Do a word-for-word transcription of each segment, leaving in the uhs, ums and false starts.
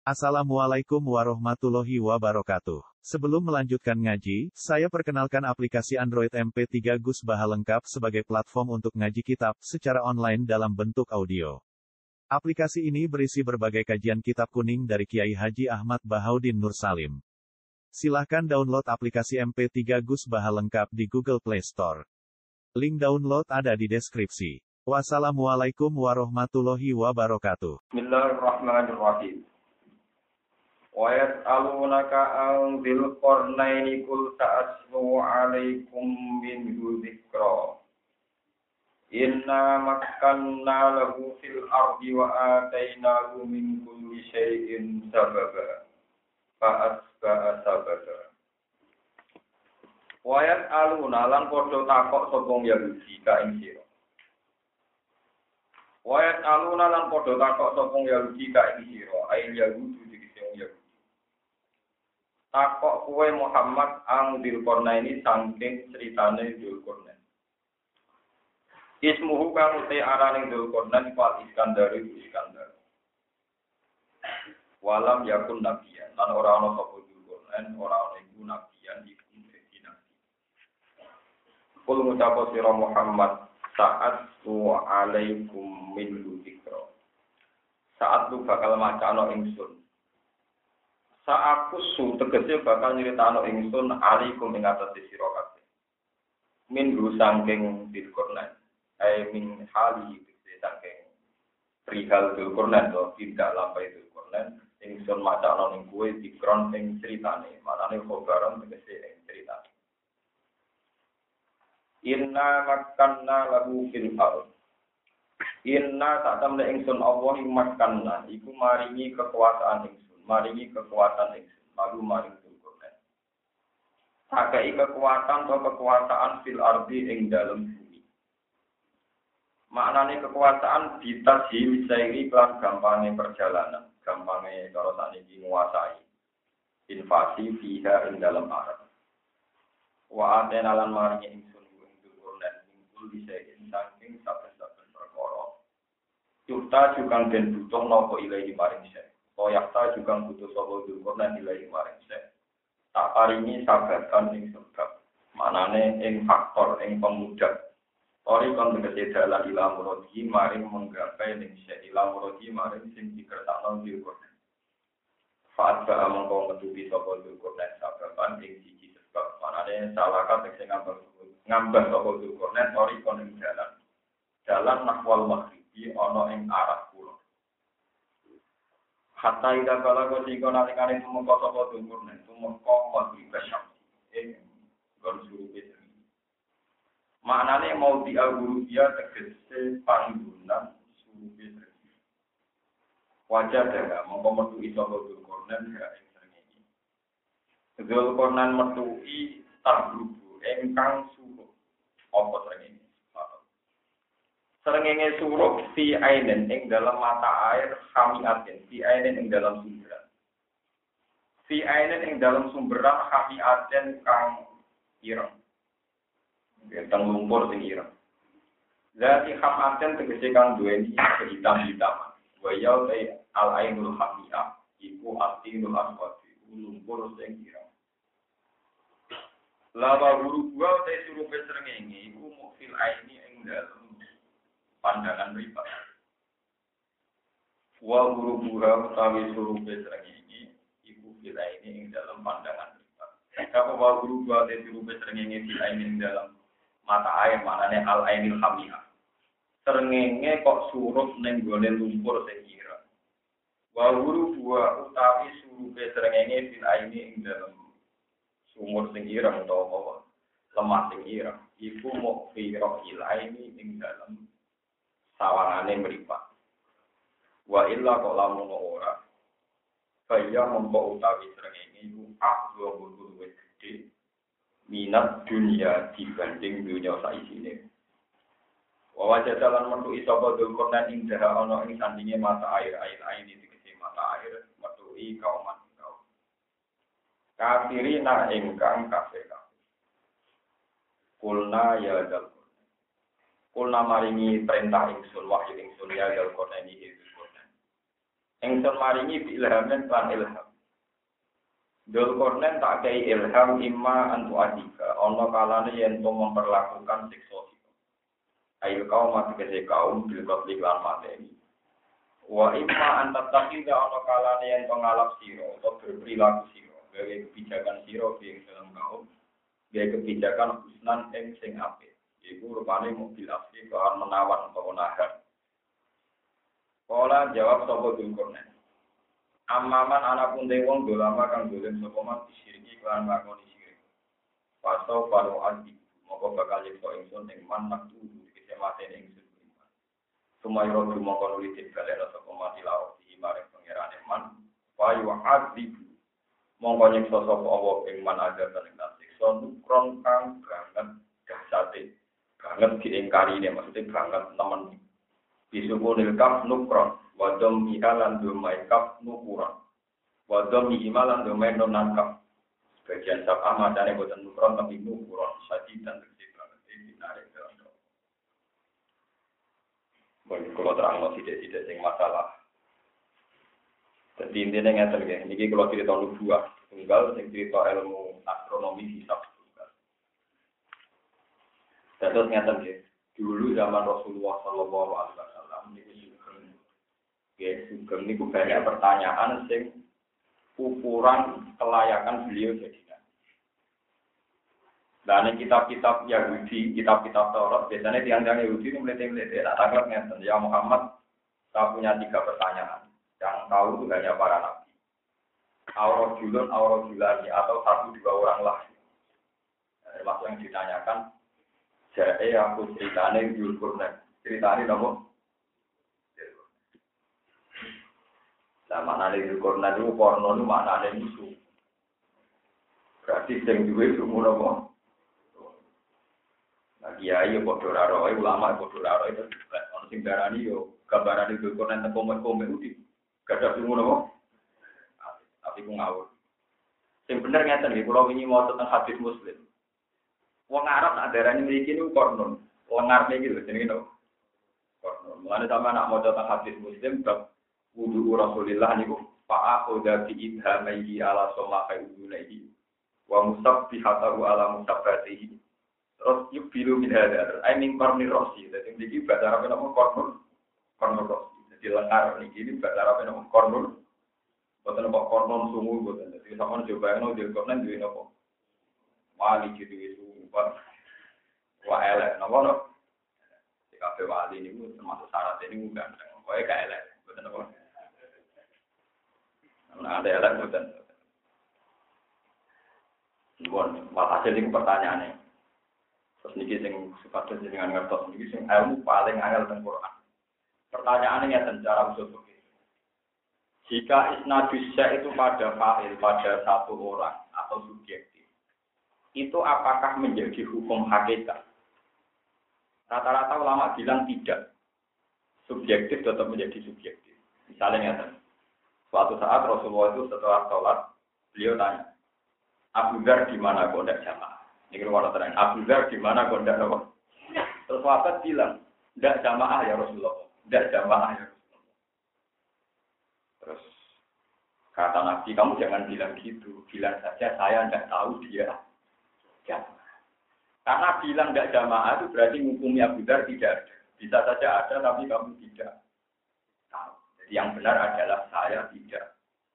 Assalamualaikum warahmatullahi wabarakatuh. Sebelum melanjutkan ngaji, saya perkenalkan aplikasi Android M P tiga Gus Baha lengkap sebagai platform untuk ngaji kitab secara online dalam bentuk audio. Aplikasi ini berisi berbagai kajian kitab kuning dari Kiai Haji Ahmad Bahaudin Nur Salim. Silahkan download aplikasi M P tiga Gus Baha lengkap di Google Play Store. Link download ada di deskripsi. Wassalamualaikum warahmatullahi wabarakatuh. Bismillahirrahmanirrahim. Wa yas'alunaka an dzil qarnaini qul ta'aslu 'alaikum minhu dzikra. Inna makkanna lahu fil ardi wa atainahu min kulli syai'in sababa. Fa asba'a sababa. Wa yas'aluna lan padha takok sapa Yahudi ka ing sira. Wa yas'aluna lan padha takok sapa Yahudi ka ing sira, ail Yahudi takok kuwe Muhammad ang Dzulqarnaini saking critane Dzulqarnain. Ismuhu kang te arane Dzulqarnain Fal Iskandar Iskandar. Walam yakun nabiyan lan ora ana sapa Dzulqarnain ora ana iku nabiyan iku dadi nabi. Kul ngucap sira Muhammad saat tu alaikum min dzikra. Saat lu bakal macana ingsun. Sa'aku su tegese bakal nyritano ingsun alaikum ing atas sira kabeh. Min ru saking Dzulqarnain, ai min hali tegese saking perihal Dzulqarnain to tidak lampai Dzulqarnain ingsun macana ning kowe dikron ing critane, manane khobaran tegese ing critane. Inna makkanna lahu fil ardh. Inna tak temne ingsun Allah ing makkanna iku maringi kekuasaan ingsun. Maringi kekuatan ingsun, lalu maring Dzulqarnain. Sakai kekuatan atau kekuasaan fil ardi ing dalam bumi. Maknane kekuasaan ditasi misairi kelan gampangnya perjalanan, gampangnya kalau saniki menguasai invasi fiha ing dalam arab. Wa atena lan maringi ingsun ing Dzulqarnain ingkul bisa saking saben-saben perkara. Yuta juga den butuh napa ilahi maring saya. Yakta juga butuh sapa Dzulqarnain nilai maring sek. Tak paringi sabatan ing sebab. Manane ing faktor ing pemudak. Ori kon tegese dalan ila muradi maring menggapai ning sek ila muradi maring sing dikersakno Dzulqarnain. Faat ba mongko metubi sapa Dzulqarnain sabatan ing siji sebab. Manane salah kate sing ngambah ngambah sapa Dzulqarnain ori kon ing dalan. Dalan nahwal maghribi ana ing arah kulon. Hatta ida kala ko sing kono nalikane tumeka sapa Dzulqarnain tumeka maghrib syam ing gon surupe seni. Maknane mau diaguru dia tegese panggonan surupe seni. Wajah daga mongko metu sapa Dzulqarnain ya ing srengenge. Dzulqarnain metuki tabrubu ingkang surup apa srengenge. Srengenge surup fi ainen ing dalam mata air khamiatin fi ainen ing dalam sumberan. Fi ainen ing dalam sumberan khamiatin kang ireng. Gentang lumpur sing ireng. Zati khamiatin tegese kang duweni hitam-hitaman. Wa ya al ainul khamiyah iku atinul aswad lumpur sing ireng. Lawa guru gua te surupe srengenge iku mukfil aini ing dalam pandangan riba. Wa guru buha utawi surupe srengenge iku bila ini ing dalam pandangan riba. Kalau wa guru buha te surupe srengenge bila ini ing dalam mata air manane al ainil hamiyah. Srengenge kok surup ning gone lumpur sing ireng. Wa guru buha utawi surupe srengenge bila ini ing dalam sumur sing ireng utawa lemah sing ireng iku mok fi rohil aini ing dalam sawangane mripat. Wa illa kok lamun ora. Kaya mongko utawi srengenge iku akwa guru wis gedhe minat dunia dibanding dunia saisine. Wa wajah dalan metu sapa Dzulqarnain ing daerah ana ing sandinge mata air air air iki tegese mata air metuhi kaum kaum. Kafirina ingkang kafir. Kulna ya dal Kulna maringi perintah ingsun wahyu ingsun ya Dzulqarnain iki Dzulqarnain. Ingsun maringi bi ilhamin lan ilham. Dzulkarnain tak kei ilham imma antu adika. Ana kalane yen to memperlakukan siksa sira. Ayo kaum mati kese kaum bil qatli lan mateni. Wa imma anta takhida ana kalane yen to ngalap sira utawa berperilaku sira. Gawe kebijakan sira ing dalam kaum. Gawe kebijakan husnan ing sing apik. Iku rupane mobil asli kawan menawan atau menahan. Kala jawab sapa Dzulkarnain. Amaman anak pun wong dolama kang dolen sapa man disiriki lan ngakoni sirik. Paso paro adi moko bakal yekso ingsun ing man maktu dikese matene ingsun. Sumayro moko nuli dibalen sapa mati lawan di marang pangerane man. Payu adi mongko nyekso sapa Allah ing man ajar ing siksa nukron kang banget dahsate. Banget diingkari maksudnya banget temen. Bisuku nilkaf nukron. Wadom ihalan domai kaf nukuran. Wadom ihimalan domai nonankaf. Sebagian sabah madane boten nukron tapi nukuran. Sadi dan tegesi banget. Ini menarik dalam doa. Boleh kalau terang tidak-tidak sing masalah. Jadi intinya ngeten ya. Ini kalau cerita nubuah tunggal, sing cerita ilmu astronomi hisab tunggal. Terus ngeten ya. Dulu zaman Rasulullah Shallallahu Alaihi Wasallam ini sugeng, ya sugeng ini banyak pertanyaan sing ukuran kelayakan beliau jadi nabi. Dan kitab-kitab Yahudi, kitab-kitab Taurat biasanya tiang-tiang Yahudi ini meliti-meliti. Tak tangkap ngeten, ya Muhammad, saya punya tiga pertanyaan yang tahu itu hanya para nabi. Aurot julun, aurot julani atau satu dua orang lah. Termasuk yang ditanyakan. Jadi aku ceritanya Dzulkarnain. Ceritanya nama? Nah, maknanya Dzulkarnain itu porno itu maknanya musuh. Berarti yang juga itu nama? Nah, kiai ya bodoh raro, ulama ya bodoh raro itu. Orang sing darani yo gambaran Dzulkarnain tentang komen-komen itu. Gak ada semua nama? Tapi aku ngawur. Yang benar ngeten nih, kalau ini mau tentang hadis Muslim. Wong Arab nak darani mriki niku kornon, lengar niki lho jenenge no. Kornon. Mulane sampeyan nak maca teng hadis Muslim bab wudu Rasulillah niku fa aquda bi idhamaihi ala sallati udunaihi wa musabbihatahu ala musabbatihi. Terus yubilu min hadar, I mean korni rosi. Dadi niki bahasa Arab nama kornon, kornon rosi. Jadi lengar niki ini bahasa Arab nama kornon. Boten kok kornon sungu boten. Dadi sampeyan coba ngono Dzulkarnain duwe napa? Wali jadi itu. Wah elek, napa no? Di kafe wali ini termasuk syarat ini bukan, pokoknya gak elek, betul napa? Nah ada elek betul. Bukan, hasil ini pertanyaannya. Terus niki sing suka dengan ngertos niki sing ilmu paling angel teng Quran. Pertanyaannya secara usul begini. Jika isnadusya itu pada fa'il pada satu orang atau subjek. Itu apakah menjadi hukum hakikat? Rata-rata ulama bilang tidak. Subjektif tetap menjadi subjektif. Misalnya, suatu saat Rasulullah itu setelah sholat, beliau tanya, Abu Dzar di mana kok tidak jamaah? Ini keluar terang. Abu Dzar di mana kok tidak apa? Terus sahabat bilang, tidak jamaah ya Rasulullah. Tidak jamaah ya Rasulullah. Terus kata Nabi, kamu jangan bilang gitu. Bilang saja saya tidak tahu dia. Karena bilang tidak jamaah itu berarti hukumnya Abu Dzar tidak ada. Bisa saja ada tapi kamu tidak tahu. Jadi yang benar adalah saya tidak.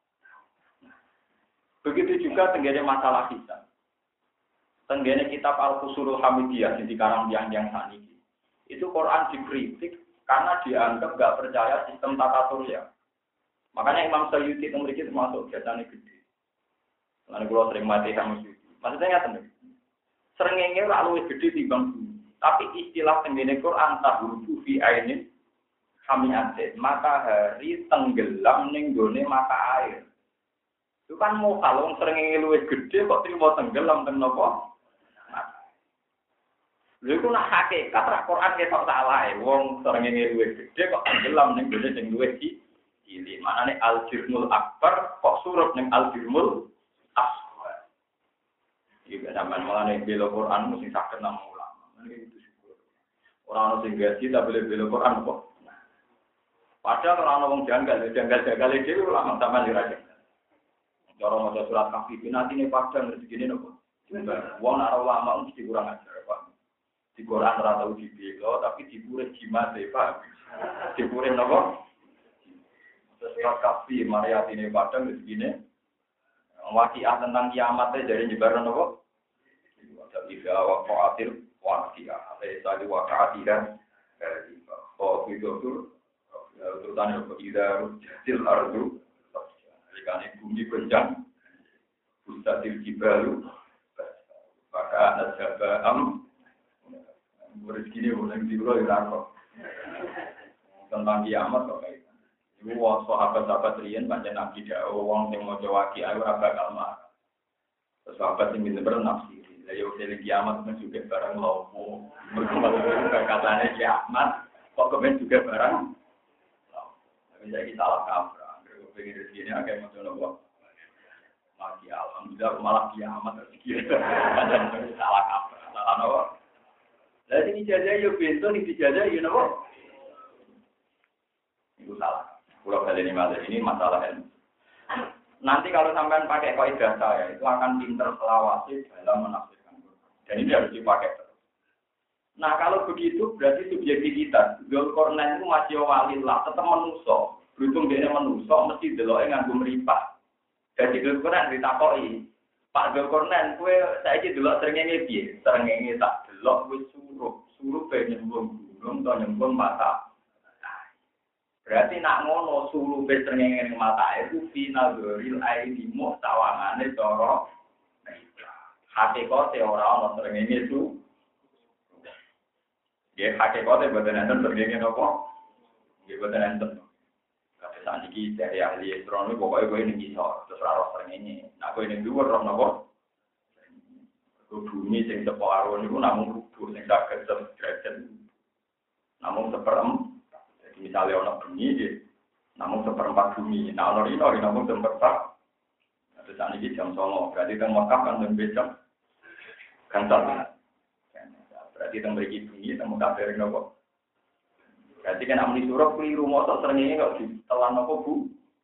Begitu juga tenggene masalah kita. Tenggene kitab Al-Qusurul Hamidiyah yang dikarang yang saniki. Itu Quran dikritik karena dianggap nggak percaya sistem tata surya. Makanya Imam Suyuti itu memiliki termasuk biasanya gede. Lalu kalau sering mati sama Suyuti. Maksudnya nggak tenang. Serengenge ora luwih gedhe timbang bumi. Tapi istilah tenggene Quran tahuru fi ainin hamiate, matahari tenggelam ning gone mata air. Itu kan mau kalau serengenge luwih gedhe kok trimo tenggelam teng napa? Lha iku nak hakikat ra Quran ketok salah e. Wong serengenge luwih gedhe kok tenggelam ning gone sing luwih cilik. Manane al-jirmul akbar kok surut ning al-jirmul Jika zaman malah nih bela Quran mesti sakit nama ulama, ini itu syukur. Orang orang sing gaji tak boleh bela Quran kok. Padahal orang ngomong janggal, janggal-janggal itu ulama sama liraja. Cara maca surat Kahfi nanti ini padang rezeki ini nopo. Wong ora ulama mesti kurang ajar, Pak. Di Quran ora tau dibelo, tapi dipure jimat e, Pak. Dipure nopo? Surat Kahfi Maria ini padang rezeki ini. Waqiah tentang kiamat e dari nyebar nopo? Jadi waqa'atil waqiah. Ada tadi waqa'atihan dari oh itu terutama ida rujatil ardu jika bumi goncang bustatil jibalu maka ada sabam rezeki boleh diulo irako tentang kiamat kok kayak itu wong sahabat-sahabat riyen pancen nabi dawuh wong sing maca waqiah ora bakal marah sahabat sing bener nafsi lha yo dene kiamat men juga barang lopo mergo katane kiamat kok kemen juga barang bisa kita salah kaprah, kalau pengen rezeki ini agak macam apa? Lagi alhamdulillah malah kiamat rezeki. Kadang salah kaprah, salah apa? Jadi ini jajah yo bento, ini jajah yo apa? Itu salah. Kalau kali ini masalah ini masalah ilmu. Nanti kalau sampean pakai kaidah saya, itu akan pinter selawasi dalam menafsirkan. Dan ini harus dipakai. Nah kalau begitu berarti subjektivitas. Dzulqarnain itu masih walillah, tetap manusia. Beruntung dia manusia, mesti deloknya nganggo meripat. Jadi Dzulqarnain ditakoki, Pak Dzulqarnain, kue saya ini delok srengenge piye? Srengenge tak delok wis suruh, suruh pe nyembung gunung atau nyembung mata. Berarti nak ngono suruh pe srengenge ning mata itu final goril aini mu tawangane cara hakikate ora ana srengenge itu. Ya hakikate boten enten srengenge napa? Nggih boten enten. Kata saniki dari ahli astronomi pokoke kowe ning isor terus ora ora srengenge. Nah kowe ning dhuwur ora napa? Bumi sing separo niku namung rubuh sing saged derajat. Namung seperem. Jadi misalnya ana bumi nggih namung seperempat bumi. Nah ana rino namung seperempat. Terus saniki jam songo berarti teng Mekah kan lebih jam gantar. Berarti teng mriki bumi temu kabeh nopo. Berarti kan amni suruh keliru moto srengenge kok ditelan nopo Bu.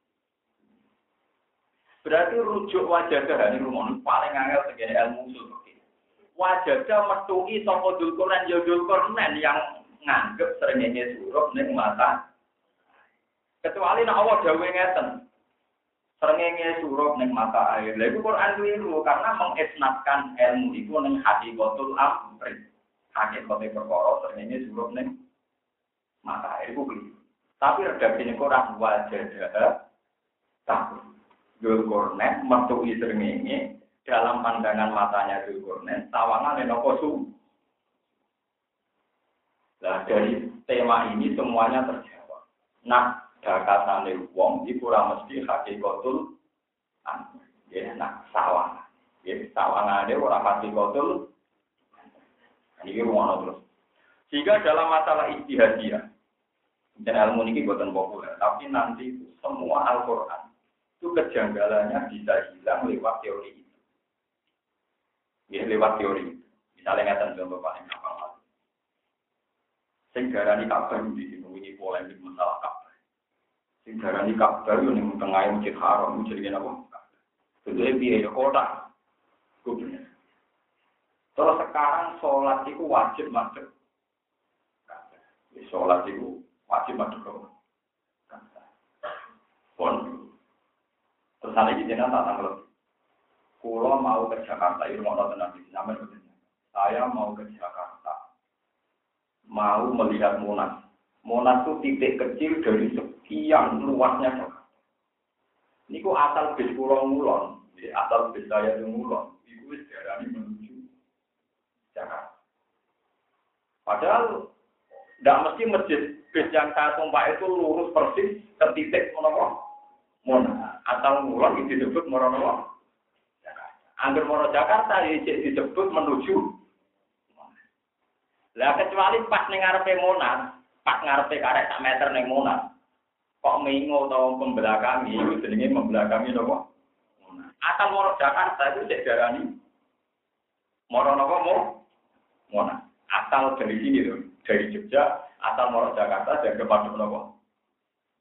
Berarti rujuk wajah ini rumon paling angel segene ilmu usul fikih. Wajah metuki sapa Dzulqarnain ya Dzulqarnain yang nganggep srengenge suruh ning mata. Kecuali nek Allah dawuhe ngeten. Srengenge suruh ning mata air. Lha iku Quran keliru karena mengisnatkan ilmu iku ning hakikatul amri. Hakikate perkara srengenge suruh ning mata air ku keliru. Tapi redaksine Quran wajah tak Dzulqarnain metuki srengenge dalam pandangan matanya Dzulqarnain tawangane napa su. Nah dari tema ini semuanya terjawab. Nah dakatane wong iku ora mesti hakikatul amri. Ya nak sawang. Ya sawangane ora hakikatul. Ini ruang terus. Sehingga dalam masalah ijtihadiyah, dan ilmu ini bukan populer, tapi nanti itu semua Al-Quran itu kejanggalannya bisa hilang lewat teori itu. Ya, lewat teori itu. Misalnya ngatan contoh paling gampang lah. Sing darani Ka'bah di sini ini polemik masalah Ka'bah. Sing darani Ka'bah yo ning tengah Masjid Haram jenenge apa? Bentuke piye ya kota. Kuwi. Terus sekarang sholat itu wajib madhep. Sholat itu wajib madhep. Pon. Terus ada di sana tak tanggal. Kulo mau ke Jakarta, itu mau tenang di sana. Saya mau ke Jakarta. Mau melihat Monas. Monas itu titik kecil dari sekian luasnya Jakarta. Ini kok asal bis pulau Mulon, asal bis saya di Mulon. Itu sejarah ini menuju Jakarta. Padahal tidak mesti masjid bis yang saya tumpah itu lurus persis ke titik Monas. Monas atau Mulon itu disebut Monas. Angger Monas Jakarta disebut menuju. Lah kecuali pas ning ngarepe Monas, pas ngarepe karek sak meter ning Monas. Kok mengo utawa pembelakangi itu jenenge membelakangi napa? Monas. Asal Monas Jakarta itu cek darani Monas napa mo? Monas. Asal dari sini loh, dari Jogja, asal Monas Jakarta dan kepada napa?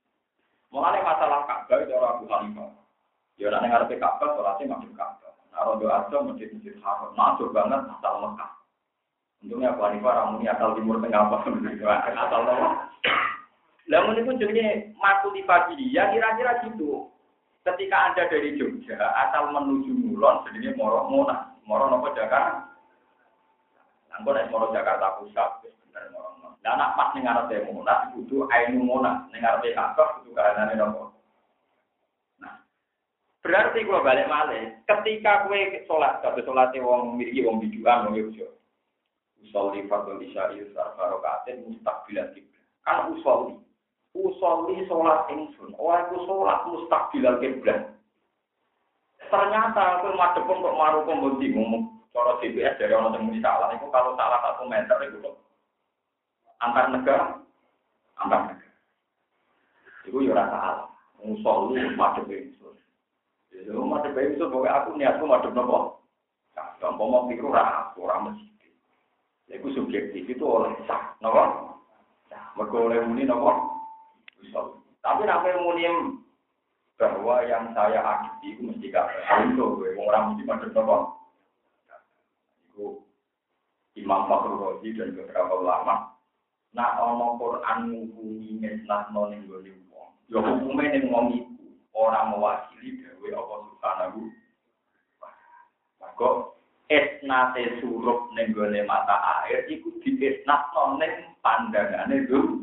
Mulane masalah Ka'bah itu ora Abu Hanifah. Ya nek ngarepe Ka'bah salate masjid Ka'bah. Nek rondo aja masjid-masjid haram. Masuk banget asal Mekah. Untungnya Abu Hanifah ora muni asal timur tengah apa asal apa. Lah mun iku jenenge makulifati ya kira-kira gitu. Ketika Anda dari Jogja asal menuju Mulon jenenge Moro Monas. Moro napa Jakarta? Angko nek Moro Jakarta Pusat wis bener Moro. Lah anak pas ning ngarepe Monas kudu Ainu Monas, ning ngarepe Ka'bah kudu kahanane napa. Nah, berarti kula balik malih, ketika kowe salat, kabeh salate wong mriki wong bidukan wong Yogya. Usolli fardhu isya'i sarfarokaatin mustaqbilan kiblat. Kan usolli. Usolli salat ingsun, ora iku salat mustaqbilan kiblat. Ternyata kowe madhep kok maru komboti ngomong cara D P S dari ana sing muni salah iku kalau salah satu meter iku kok antar negara, antar negara. Itu ya rasa salah. Musuh lu madhep ingsun. Ya lu madhep ingsun pokoke aku niatku madhep napa? Gampang mau pikir ora ora mesti. Iku subjektif itu oleh sah, napa? Mergo oleh muni napa? Musuh. Tapi nek muni bahwa yang saya akui itu mesti gak betul, wong ora mesti madhep napa? Iku Imam Fakhrul Razi dan beberapa ulama. Nak ana Quran ngukumi ngesnakno ning gone wong. Ya hukume ning wong iku ora mewakili dhewe apa subhanahu. Maka esnate surup ning gone mata air iku diesnakno ning pandangane dulu.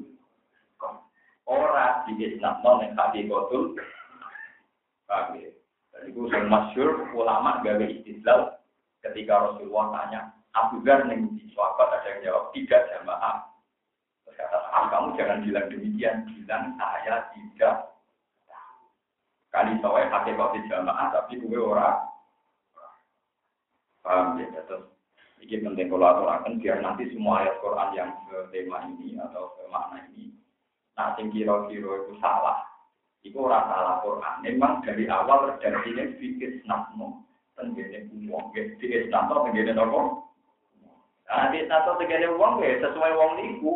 Ora diesnakno ning hakikatul. Oke. Jadi itu masyhur ulama gawe istidlal ketika Rasulullah tanya Abu Dzar ning di sahabat ada yang jawab tidak jamaah. Kata ah, kamu jangan bilang demikian, bilang saya tidak kali saya pakai kopi jamaah tapi gue ora paham ya terus ini penting kalau aturakan biar nanti semua ayat Quran yang ke tema ini atau ke makna ini nanti kira-kira itu salah itu ora salah Quran memang dari awal redaksinya fikir snapno tenggene uang fikir snapno tenggene nopo nah di snapno tenggene uang ya sesuai uang niku.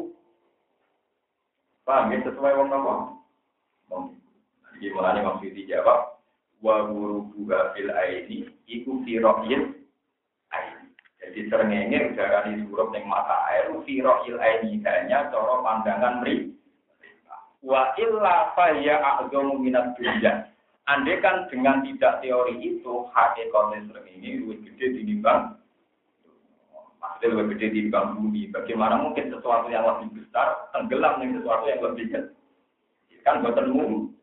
Paham ya sesuai wong apa? Wong. Iki mulane maksud dijawab wa gurubuha fil aini iku fi ra'yil aini. Jadi srengenge udarane surup ning mata air fi ra'yil aini hanya cara pandangan mri. Wa illa fa ya a'dhamu minad dunya. Andaikan dengan tidak teori itu hakikatnya srengenge luwih gede tinimbang Maksudnya lebih gede di bumi. Bagaimana mungkin sesuatu yang lebih besar tenggelam dengan sesuatu yang lebih kecil? Kan buatan umum.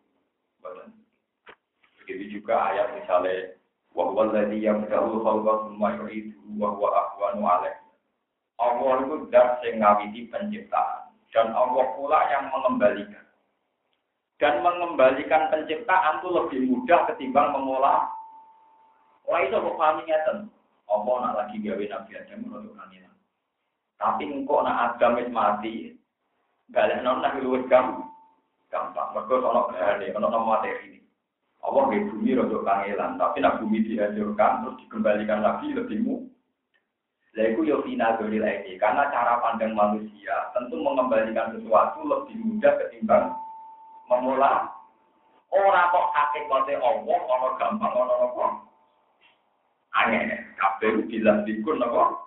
Begitu juga ayat misalnya wahwa ladzi yabda'ul khalqa tsumma yu'iduhu wa huwa ahwanu 'alaihi. Allah itu zat sing ngawiti penciptaan dan Allah pula yang mengembalikan. Dan mengembalikan penciptaan itu lebih mudah ketimbang mengolah. Orang itu kok pahami ngeten. Apa nak lagi gawe Nabi Adam untuk kangelan. Tapi engkau nak Adam wis mati, balik non nak luwih gampang. Gampang. Mergo sono gane, ono materi ini. Allah nggih bumi untuk kangelan, tapi nak bumi dihancurkan terus dikembalikan lagi lebih mudah. Lah iku yo final dari lagi, karena cara pandang manusia tentu mengembalikan sesuatu lebih mudah ketimbang memulai. Ora kok hakikate Allah ono gampang ono apa. Aneh, kabeh bilang dikun apa?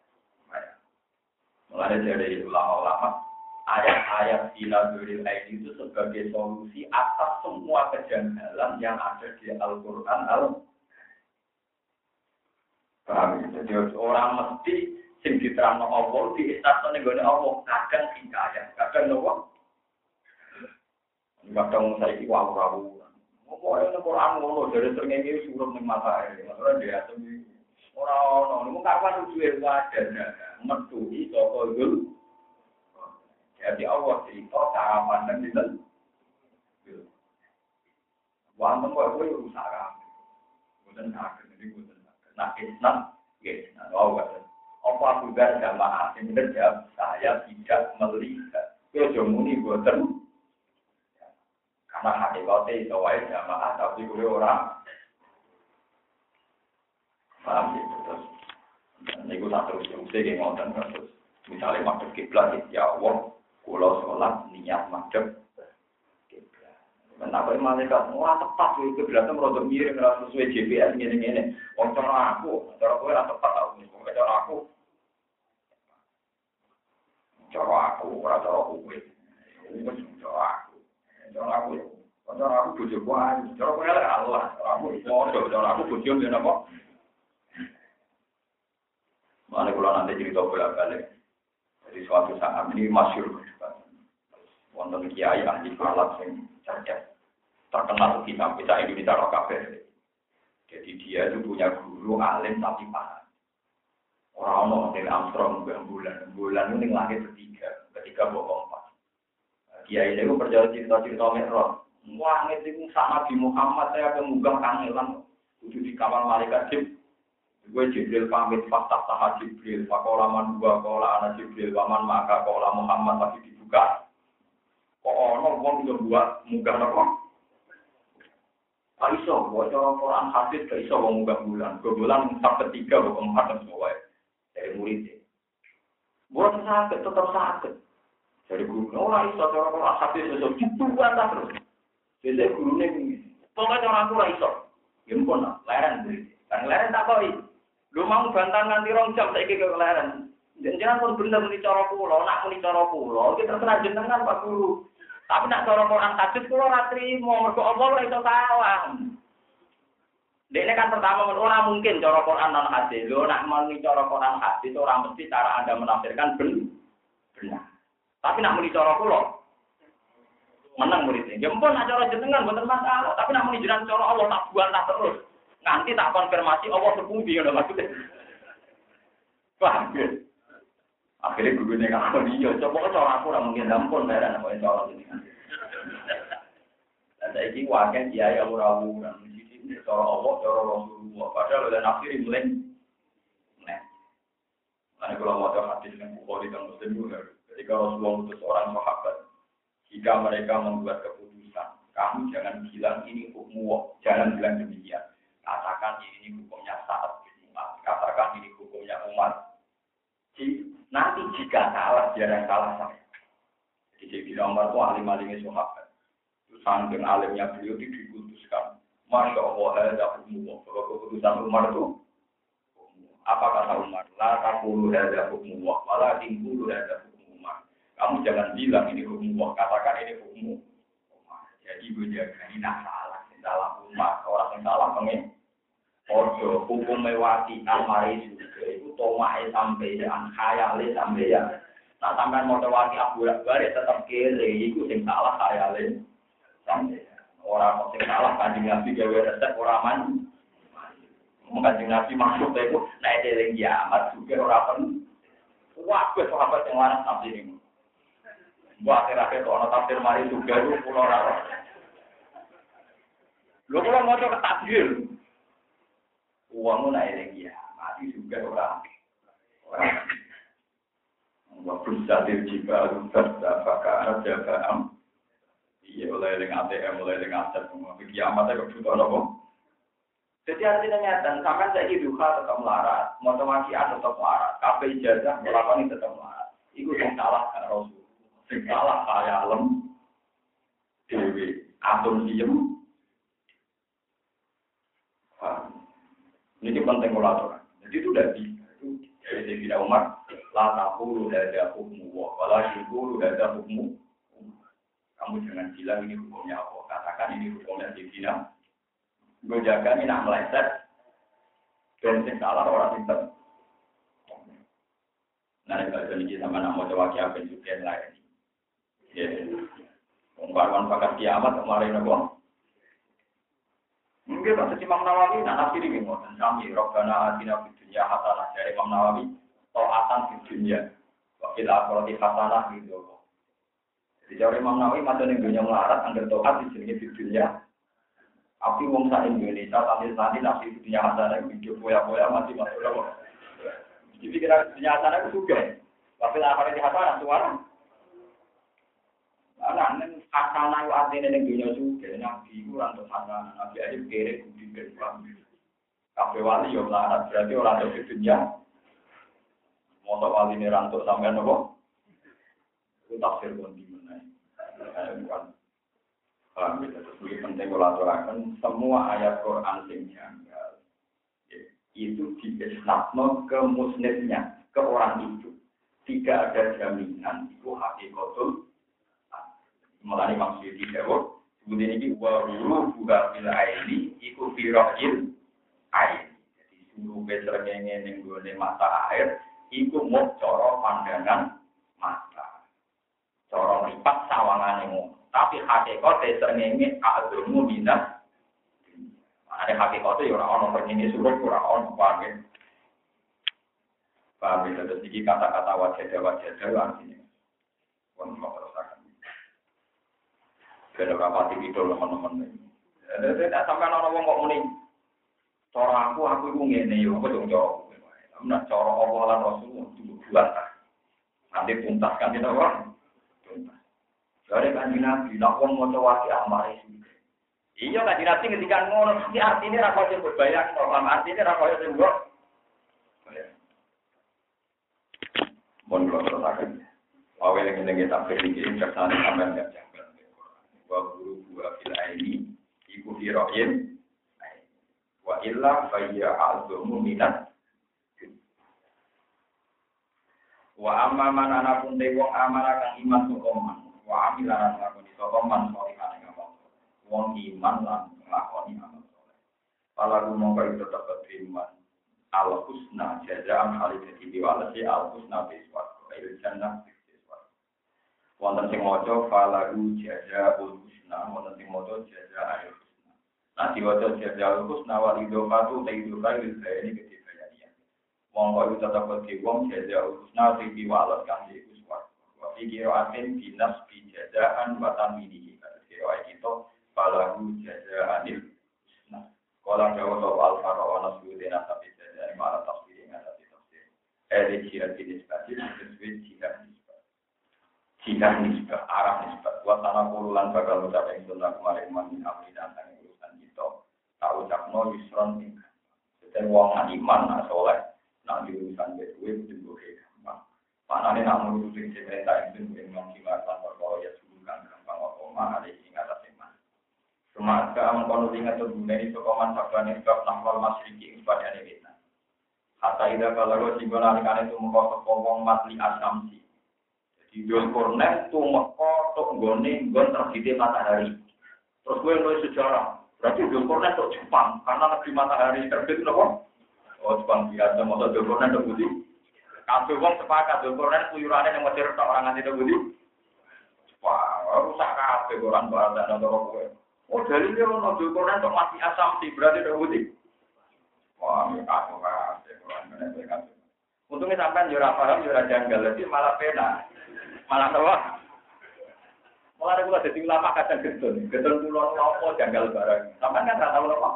Mulai dari ulama-ulama, ayat-ayat Sinaduril Aini itu sebagai solusi atas semua kejanggalan yang ada di Al-Quran. Paham? Jadi orang mesti sing diterangno Allah di istasno nenggone Allah kadang hikayat, kadang apa? Kadang saiki wawu-wawu. Apa yang Al-Quran ngono dari srengenge suruh ning mata air. Ora dia sing ora ono. Mung kapan duwe wadah metuhi saka dul. Jadi Allah cerita cara pandang dinten. Wong kok kowe usaha. Mboten saged iki mboten saged. Nah, Islam nggih, nah wae. Apa juga jamaah sing jawab saya tidak melihat. Yo muni mboten karena hakikatnya itu wae jamaah tapi gue orang paham gitu terus ini gue tak terus terus yang ngonten terus misalnya madhep kiblat ya Allah kulo sholat niat madhep kiblat Mentak kok malaikat ora tepat iki berarti merodok miring ora sesuai G P S ngene-ngene. Wong cara aku, cara kowe ora tepat aku. Wong cara aku. Cara aku ora cara kowe. Wis cara aku. Cara aku. Cara aku bojo kuwi. Cara kowe lek Allah, cara aku bojo, cara aku bojo yen apa? Mane kula nanti cerita bolak-balik. Jadi suatu saat ini masyhur wonten kiai ahli falak sing cerdas terkenal di sampai Indonesia roh kabeh. Jadi dia itu punya guru alim tapi paham. Orang orang Armstrong bulan bulan ini langit ketiga, ketiga bohong empat. Kiai itu percaya cerita-cerita Mi'raj. Wah, itu sama Nabi Muhammad saya kemunggah kangelan kudu di kamar malaikat Jibril. Gue Jibril pamit fatah tahap Jibril, fakola man dua kola anak Jibril, waman maka kola Muhammad lagi dibuka. Kok ono wong yo buat munggah napa? Pak iso, buat cara Quran hadis gak iso wong munggah bulan. Ke bulan sampai tiga atau empat dan semua dari muridnya. Buat sakit tetap sakit. Dari guru, ora iso cara Quran hadis iso dibuat terus. Jadi guru ini, pokoknya orang tua iso. Gempon lah, leren murid. Kan leren tak koi. Lu mau bantan nganti rong jam saiki ke leren. Jangan pun bener muni cara kula, nak muni cara kula, iki terserah jenengan Pak Guru. Tapi nak cara Quran hadis kula ora trimo, mergo Allah ora iso salah. Dene kan pertama ora mungkin cara Quran dan hadis. Lho nak muni cara Quran hadis ora mesti cara Anda menafsirkan benar. Tapi nak muni cara kula menang muridnya. Ya ampun nak cara jenengan mboten masalah, tapi nak muni jenengan cara Allah tak buantah terus. Nanti tak konfirmasi Allah sepundi ngono maksudnya. Paham ya? Akhirnya guru ini ngakon iya, coba cara aku ora mungkin ampun bayaran apa cara ini. Dan saiki wae kiai ora-ora di sini cara Allah, cara Rasulullah. Padahal oleh nafsir mulai. Nah. Ana kalau mau hadis yang Bukhari dan Muslim juga. Ketika Rasulullah utus orang sahabat, jika mereka membuat keputusan, kamu jangan bilang ini hukum, jangan bilang demikian. Katakan ini hukumnya saat umat, katakan ini hukumnya umat. Nanti jika salah, jangan salah saya. Jadi Sayyidina Umar itu alim-alimnya sahabat. Itu saking alimnya beliau itu dikutuskan. Masya Allah, ada hukum. Kalau keputusan Umar itu, apa kata Umar? La taqulu hadza hukmullah, wala tinqulu hadza hukmullah. Kamu jangan bilang ini hukmullah, katakan ini hukum. Jadi gue jaga ini nak salah, salah umat, orang yang salah pengen. Ojo hukum mewati almari juga itu tomae sampeyan, khayale sampeyan. Nah sampean mau wati aburak-bare tetap kere, iku sing salah khayale sampeyan. Ora kok sing salah Kanjeng Nabi gawe resep ora man. Kanjeng Nabi maksud e iku nek eling kiamat juga ora pen. Wah, wis sahabat yang lanang tafsir ini. Buat terakhir ono tafsir mari juga itu pulau ora. Lho kula maca ketafsir. Uangmu naik lagi ya, mati juga orang. Orang. Waktu sadir jika lutar dapat jaga am. Iya mulai dengan A T M, mulai dengan aset, mulai kiamatnya kebutuhan apa? Jadi artinya nyata, sampai saya hidup tetap melarat, motivasi tetap melarat, kafe ijazah melakukan ini tetap melarat. Itu yang salah kan Rasul, yang salah saya alam, dewi, atom diem. Ini penting kolaborasi. Jadi itu udah bisa. Itu dari Sayyidina Umar, la taqulu hadza hukmullah, wala yaqulu hadza hukmu. Kamu jangan bilang ini hukumnya Allah. Katakan ini hukumnya Sayyidina. Gue jaga ini nak meleset. Dan sing salah orang itu. Nah, kalau ini sama nak mau coba kiamat juga yang lain. Ya, pembaruan pakat kiamat kemarin apa? Mungkin pas Imam Nawawi, nah nafsir ini ngoten kami Rabbana atina fid dunya hasanah dari Imam Nawawi, taatan fid dunya, wa fil akhirati hasanah gitu. Jadi dari Imam Nawawi masa ning dunya melarat angger taat di jenenge fid dunya. Api wong sak Indonesia sambil nanti nafsir fid dunya hasanah hidup poya-poya mati masuk apa. Jadi kira dunya hasanah itu juga. Wa fil akhirati hasanah suara. Anak neng hasanah itu artinya neng dunia juga, nabi itu orang untuk hasanah, nabi aja kere budi berkuah. Kafe wali yang melarat berarti orang untuk dunia. Motor wali ini rantuk sampai nopo, itu tafsir pun di mana? Bukan. Paham ya, terus lebih penting kalau aturakan semua ayat Quran sing janggal itu diisnadno ke musnidnya, ke orang itu. Tidak ada jaminan itu hakikatul. Mulai maksud tidak kok. Kemudian ini wa huru buka bil aini iku firaqil ain. Jadi suruh besrengenge ning gone mata air iku mung cara pandangan mata. Cara ripat sawangane ngono. Tapi hakikate srengenge agama minat. Ada hakikate ya ora ono perkene suruh ora ono paham. Paham ya, terus iki kata-kata wajah-wajah artinya. Pun mau terusakan. Ada berapa titik itu teman-teman ini. Tidak sampai orang-orang kok muni. Cara aku, aku itu ngene yo, aku dong cara. Nah, cara Allah lan Rasul itu buat. Nanti tuntas kan tidak orang. Tuntas. Dari kanjeng Nabi, nak wong maca wasi amare sing. Iya kanjeng Nabi ketika ngono, iki artine ra kaya berbayang, normal artine ra kaya sing mbok. Mon kula terusaken. Awal yang kita tampil iki kersane sampean gak janggal. Wa guru buah fil aini iku firoin wa illa fayya azumu minat wa amma man ana pun te wong amana kang iman sokoman wa amilan lakoni sokoman sorikan ing apa wong iman lan lakoni amal saleh pala mongko tetep terima al husna jazaan khalidati biwalasi al husna biswa il jannah. Wonten sing maca falahu jazaa'ul husna, wonten sing maca jazaa'ul husna. Nah diwaca jazaa'ul husna wal idhofatu ta'idufa lil bayani kebayaniya. Monggo itu tetep di wong jazaa'ul husna sing diwales kang iku suwar. Wa fi qira'atin binas bi jazaa'an wa taminihi. Kira kita falahu jazaa'ul husna. Kala dawa al-fara wa nasbudina tapi jazaa'an ma'al tafsir ing atas tafsir. Eh jihad jenis tadi sesuai jihad jika nisbah, arah nisbah, buat tanah puluhan bakal ucap yang sunnah kemarin mamin amri dan tanggung urusan kita. Tak ucap no yusron tinggal. Jadi wong iman, nah soleh, nah di urusan bedue itu juga gampang. Mana nih nak mengurusin cerita itu dengan kimasan perkara ya sebutkan gampang wakoma ada ingat iman. Semasa mengkono ingat terguna itu koman sabda nisbah nahwal masyriki kepada kita. Hatta ida kalau singgung alikan itu mengkosok wong matli asamsi. Di Dul Kornet itu meko tok nggone nggon terbitnya matahari. Terus gue nulis sejarah. Berarti Dul Kornet tok Jepang karena negeri matahari terbit napa? Oh Jepang biasa masa Dul Kornet tok budi. Kabeh wong sepakat Dul Kornet kuyurane yang Mesir tok orang nganti tok budi. Wah, rusak kabeh orang bahasa nang kowe. Oh dalile ono Dul Kornet tok mati asam berarti tok budi. Wah, kabeh kabeh orang ngene. Untungnya sampean yo ora paham yo ora janggal, jadi malah pena. Malah tawa. Malah kula dadi ulama kadang gedon. Gedon kula nopo janggal barang. Sampeyan kan ora tau lho.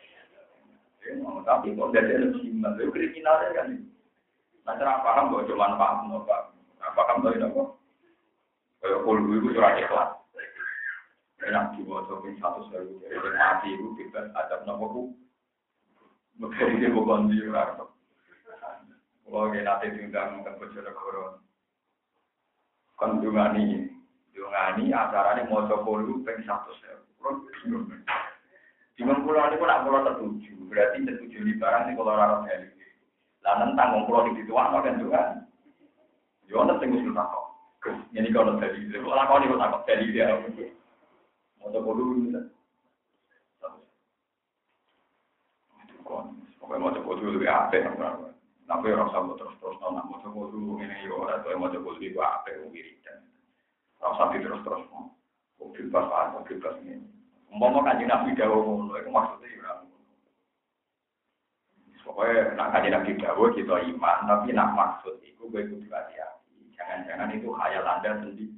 Eh, tapi kok dadi simbol lho kriminal kan. Nah, ora paham kok cuma paham apa. Apa kamu tahu apa? Kayak kulo iku ora ikhlas. Enak diwaca ping seratus ribu. Jadi mati iku bebas adab nopo ku. Mesti iki bukan di ora. Kalau kita nanti diundang ke Bojonegoro, kan dungani, dungani acaranya mau coba lu pengen satu sewa, di mana pulau ini pun nak pulau tertuju, berarti tertuju di barang ini kalau orang dari, lalu tanggung pulau di situ apa kan juga, jangan tunggu sudah kok, ini kalau dari, kalau kau ini takut dari dia, mau coba lu bisa, itu kan, pokoknya mau coba dulu lebih apa yang tapi orang sama terus-terus nak mau coba dulu ini yo atau mau coba dulu apa yang wiridan. Rasa terus-terus mau bebas apa bebas ini. Umpama kanjeng Nabi dawuh ngono iku maksudnya yo ora. Pokoknya nak kanjeng Nabi dawuh kita iman, tapi nak maksud iku kowe kudu hati-hati. Jangan-jangan itu khayal Anda sendiri.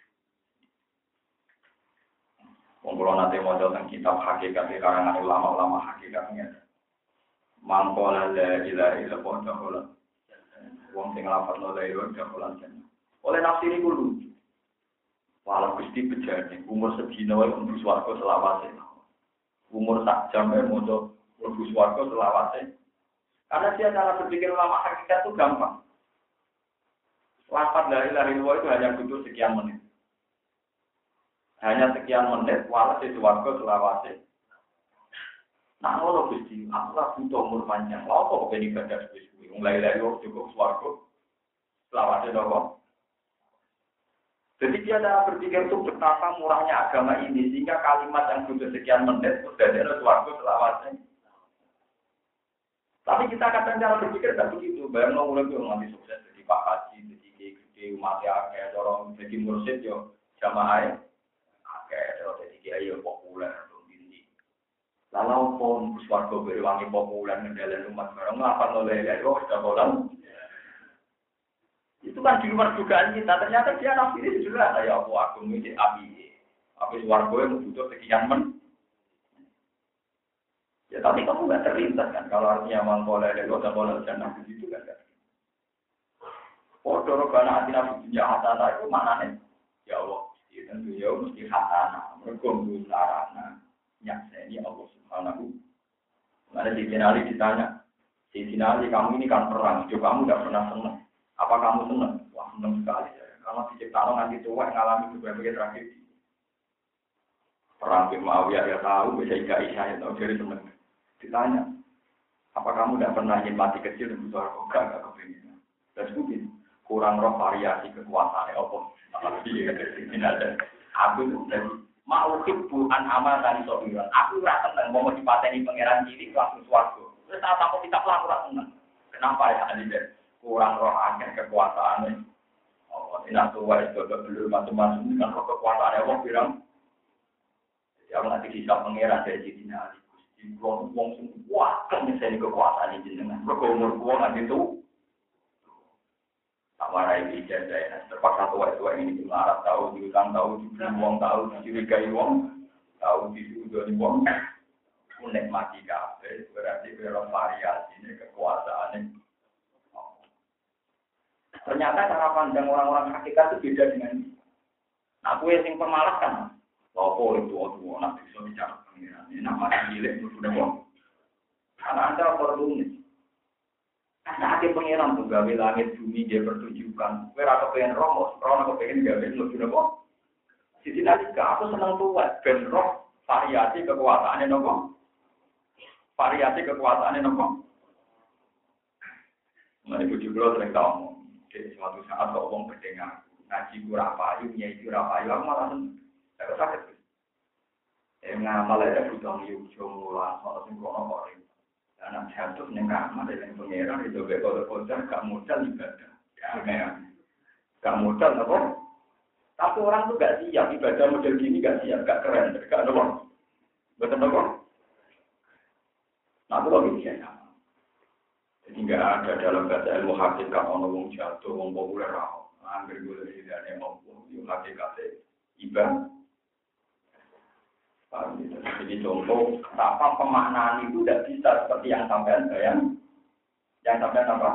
Wong kula nate maca teng kitab hakikat karangan ulama-ulama hakikatnya. Mangkola la ilaha illallah ta'ala. Wong sing lafadzno la ilaha illallah ta'ala. Oleh nafsi niku lucu. Walau Gusti bejane umur sedina wae mlebu swarga selawase. Umur sak jam wae maca mlebu swarga selawase. Karena dia cara berpikir ulama hakikat itu gampang. Lafadz la ilaha illallah itu hanya butuh sekian menit. Hanya sekian menit, walau di swarga selawase. Nah, ngono Gusti, aku ora butuh umur panjang. Lha kok ben ibadah suwi-suwi. Wong lha-lha yo cukup swarga. Selawase nopo? Jadi dia ada berpikir itu betapa murahnya agama ini sehingga kalimat yang butuh sekian menit sudah ada swarga selawase. Tapi kita kadang cara berpikir tidak begitu. Bayang lo mulai ngambil sukses jadi Pak Haji, jadi gede, umat akeh, orang jadi mursyid yo jamaah akeh, jadi kiai yo populer. Lalu pun swarga berwangi populer ngendalen umat barang ngapa oleh yo sudah bolan. Itu kan di luar dugaan kita. Ternyata dia nafsiri sederhana ya Allah aku ini api. Api swarga yang butuh sekian men. Ya tapi kamu nggak terlintas kan kalau artinya mangkole lelo dan bola jannah begitu kan? Oh dorobana hati nafsu dunia hasanah itu mana nih? Ya Allah, itu tentu ya mesti hasanah, berkumpul sarana, nyakseni Allah Subhanahu. Ada di Sinali ditanya, di Sinali kamu ini kan perang, hidup kamu nggak pernah senang. Apa kamu senang? Wah senang sekali ya. Karena diciptakan nanti tua ngalami berbagai tragedi. Perang di Muawiyah ya tahu, bisa Ika Isya ya tahu jadi senang. Ditanya, apa kamu tidak pernah ingin mati kecil dan butuh arkoga, enggak kepingin? Dan mungkin kurang roh variasi kekuasaan Allah. Aku itu dari mau hibuan amal dan sobiran. Aku rasa senang mau dipateni pangeran cilik langsung suaraku. Terus saat aku kita pelaku rasa senang. Kenapa ya Alida? Kurang roh akhir kekuasaan. Oh, tidak tua itu belum macam-macam dengan roh kekuasaan Allah bilang. Ya nanti kisah pangeran dari Cina Ali. Wong wong sing kuat kan misalnya kekuasaan jenengan. Mergo umur kuwi nanti itu. Amarai ijazah terpaksa tua-tua ini dilarang tahu, diutang tahu, diberi wong tahu, dicurigai wong, tahu disuruh wong. Unek mati kabeh berarti berapa variasi ini kekuasaan. Ternyata cara pandang orang-orang hakikat itu beda dengan ini. Nah, aku yang pemalas kan. Lopo itu tua nak bisa bicara pengiran. Ini nama cilik itu sudah kok. Karena anda perlu nih. Karena ada pengiran tuh gawe langit bumi dia pertunjukan. Kira aku pengen romo, romo aku pengen gawe lu sudah kok. Sisi nanti aku senang tuh ben roh variasi kekuasaannya nopo. Variasi kekuasaannya nopo. Mari bujuk lo sering tahu. Jadi suatu saat kau ngomong berdengar ngaji kurang payu, nyai kurang payu, aku malah saya sakit. Eh ngamal ada butuh yuk mulan soal singkong orang. Anak jatuh nengah kamar dengan pangeran itu bekor-bekor gak modal ibadah. Ya kayak gak modal apa? Tapi orang tuh gak siap ibadah model gini gak siap, gak keren, gak ada. Betul apa? Nah itu lagi biasa. Jadi nggak ada dalam bahasa ilmu hakikat orang ngomong jatuh, ngomong populer apa. Ambil gue dari dari ngomong ilmu hakikat ibadah. Jadi contoh, apa pemaknaan itu tidak bisa seperti yang sampean bayang, yang sampean apa?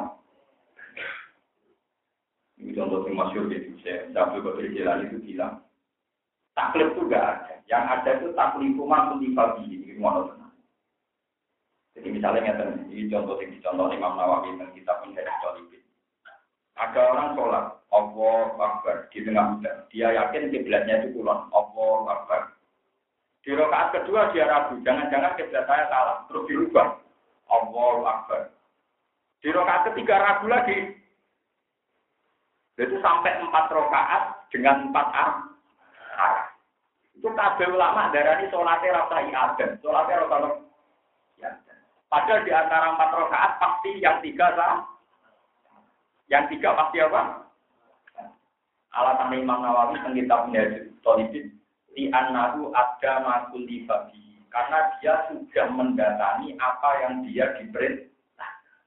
Ini contoh yang masyhur gitu, saya Abdul Qadir Jilani itu bilang, taklif itu nggak ada, yang ada itu taklifu maksud dibagi ini mana tenang. Jadi misalnya ini contoh yang dicontoh Imam Nawawi dan kitab Minhajul Talibin. Ada orang sholat, Allahu Akbar di tengah hujan, dia yakin kiblatnya itu kulon, Allahu Akbar. Di rakaat kedua dia ragu, jangan-jangan kiblat saya salah, terus dirubah. Allahu Akbar. Di rakaat ketiga ragu lagi. Itu sampai empat rakaat dengan empat arah. Itu kabeh ulama darani salatnya rasa ibadah, salatnya rasa ya. Padahal di antara empat rakaat pasti yang tiga salah. Yang tiga pasti apa? Alasan Imam Nawawi tentang kitab Minhajul Talibin. Di annahu ada makul libabi karena dia sudah mendatangi apa yang dia diperintah.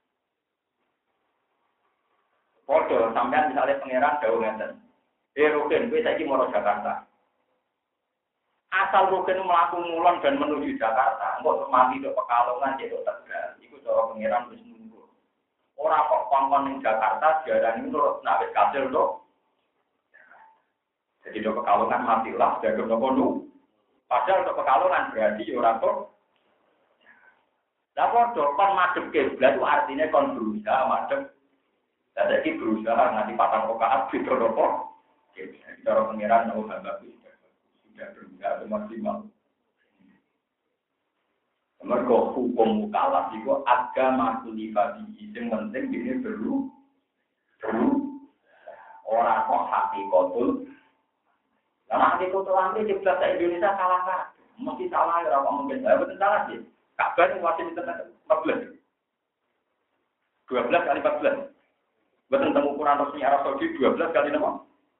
Foto sampean misalnya pangeran dawuh ngeten. Eh Rukin, kowe saiki mau Jakarta. Asal Rukin mlaku mulon dan menuju Jakarta, engko mati tok Pekalongan cedok Tegal. Iku cara pangeran wis nunggu. Ora kok kongkon ning Jakarta diarani nurut nek wis kasil tok. Jadi do Pekalongan matilah, jaga nopo nu. Padahal do Pekalongan berarti orang kok. Lah do kon madhep kiblat itu artinya kon berusaha madhep. Lah iki berusaha nganti patang rakaat gitu nopo. Cara pengiran nopo bagus. tidak tidak maksimal. Mergo hukum mukallaf itu agama kulifati sing penting ini perlu perlu orang kok hati kotul. Karena hati kotul nanti di bahasa Indonesia salah kan? Mesti salah ya orang mungkin saya betul salah sih. Kabar masih di tengah empat belas, dua belas kali empat belas. Betul tentang ukuran resmi Arab Saudi dua belas kali nama.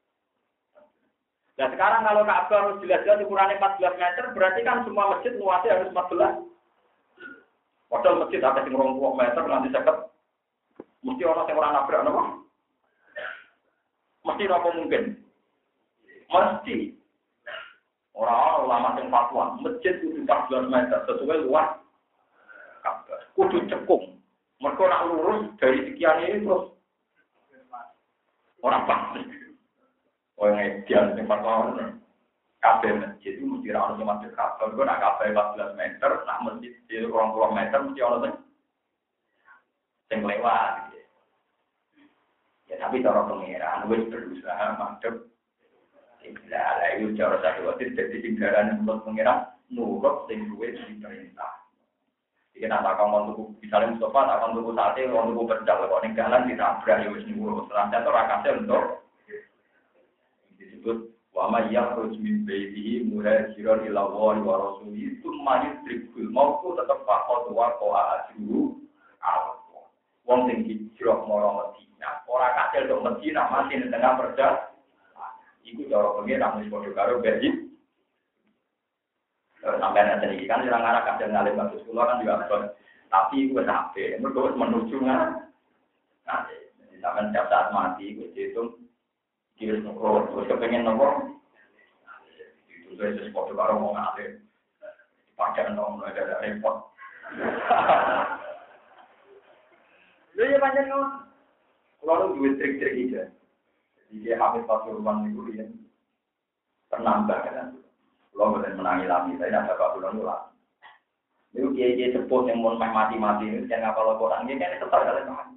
Nah sekarang kalau Ka'bah harus jelas-jelas ukurannya empat belas meter, berarti kan semua masjid luasnya harus empat belas. Padahal masjid ada yang rong puluh meter nanti seket. Mesti orang yang orang nabrak apa? Mesti apa mungkin? Mesti. Orang ulama yang fatwa, masjid itu empat belas meter sesuai luas. Kudu cekung. Mereka nak lurus dari sekian ini terus orang pasti. Orang yang yang fatwa. Kabeh masjid itu mesti orang yang masjid kabeh. Kalau nak kabeh empat belas meter, nak masjid di dua puluh meter mesti orang yang lewat. Ya tapi cara pengiran, wis berusaha madhep. Tidak ada itu cara satu waktu jadi tinggalan yang buat pengiran nurut sing duwe diperintah. Jika nak takkan untuk misalnya Mustafa takkan untuk sate, untuk berjalan kalau tinggalan ditabrak ya wis nyuruh. Selanjutnya itu rakasnya untuk disebut wama yakhruj min baitihi muhajiran ila Allahi wa rasulihi tsumma yudrikul maut tetep faqad wa qa'a ajru al wong sing hijrah marang Madinah ora kasil dok Madinah mati ning tengah perjalanan iku cara pengen wis padha karo bayi sampai nanti iki kan sing arah kasil ngalim bagus kula kan juga abot tapi iku wis sampe mergo wis menuju nang nah sampeyan tiap saat mati wis diitung kira nopo terus kepengen nopo itu saya sesuatu baru mau ngalir pakai nopo ada repot lu ya panjang nopo kalau duit trik-trik aja jadi dia habis pasal rumah itu dia penambah kan kalau boleh menangi lagi saya nak dapat bulan ulang itu dia dia sepuh yang mau mati-mati itu jangan kalau orang ini kan tetap ada teman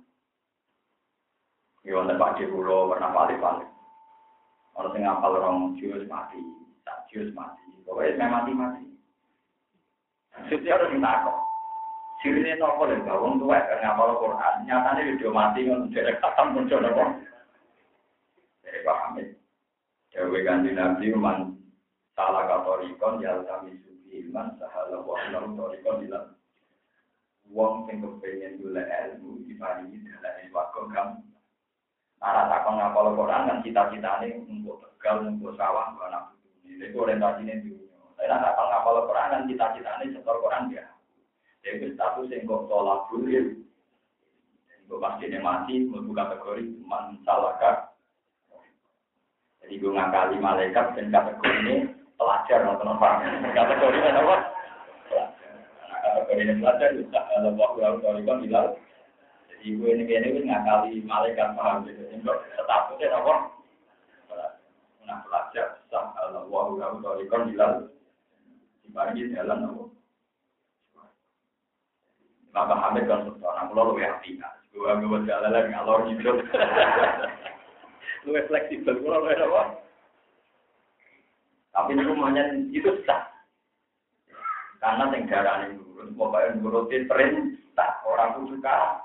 ya untuk pak Jekulo pernah balik-balik orang yang ngapal orang jus mati, tak jus mati, pokoknya saya mati-mati. Setiap orang minta kok. Sirine nopo lho, wong tuwek ngapal Quran, nyatane video mati ngono derek katam muncul nopo. Dari paham ya. Dewe ganti Nabi man salah katorikon ya kami suci iman sahala wa lam torikon bilang. Wong sing kepengin golek ilmu diparingi dalan wakon kamu. Arah takon ngapal Quran kan cita-citane untuk tegal, untuk sawah, untuk anak putu. Itu orientasinya dunia. Saya nak takon ngapal Quran kan cita-citane setor Quran ya. Jadi status yang kok tolak bulir. Jadi kok pasti dia mati, membuka kategori man salahkah. Jadi gue ngakali malaikat dan kategori ini pelajar nonton orang. Kategori ini apa? Pelajar. Kategori ini pelajar bisa kalau waktu lalu kalau bilang. Ibu ini ini ngakali malaikat paham gitu. Untuk statusnya apa? Nah pelajar sah Allah wa huwa torikon hilal dibagi jalan apa? Bapak Hamid kan seorang pulau lebih hati. Gua gua jalan lagi ngalor gitu. Lebih fleksibel pulau lebih apa? Tapi rumahnya itu sah. Karena negara ini turun, pokoknya nurutin perintah orang itu suka.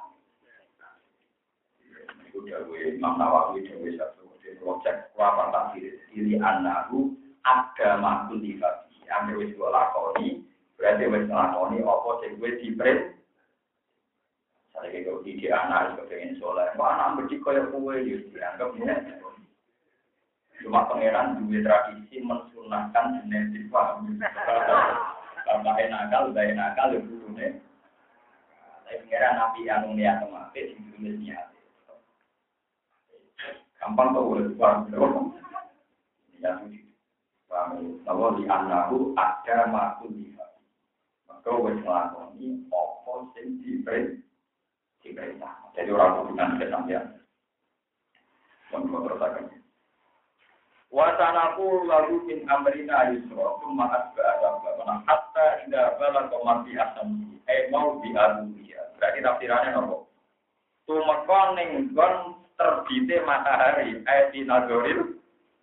Dawe Imam Nawawi dawe satu projek apa tafsir diri anahu agama kultivasi ambil wis lakoni berarti wis lakoni apa sing wis diprint saiki kok iki anak kok pengen soleh kok anak mesti koyo kowe yo dianggap nek cuma pangeran duwe tradisi mensunahkan genetik paham tambah nakal bae nakal yo kudune tapi pangeran nabi anu niat mati sing duwe niat gampang tau boleh paham dong. Ya suci. Paham. Kalau di anahu ada makul dihati. Maka wes ngelakoni opo sing diberi diperintah. Jadi orang bukan kesampian. Mohon teruskan. Wasanaku lalu min amrina yusra summa asba'a sabana hatta idza balagha marti asam eh mau dialuya. Berarti tafsirannya nopo? Tumeka ning gon terbite matahari ayat nazoril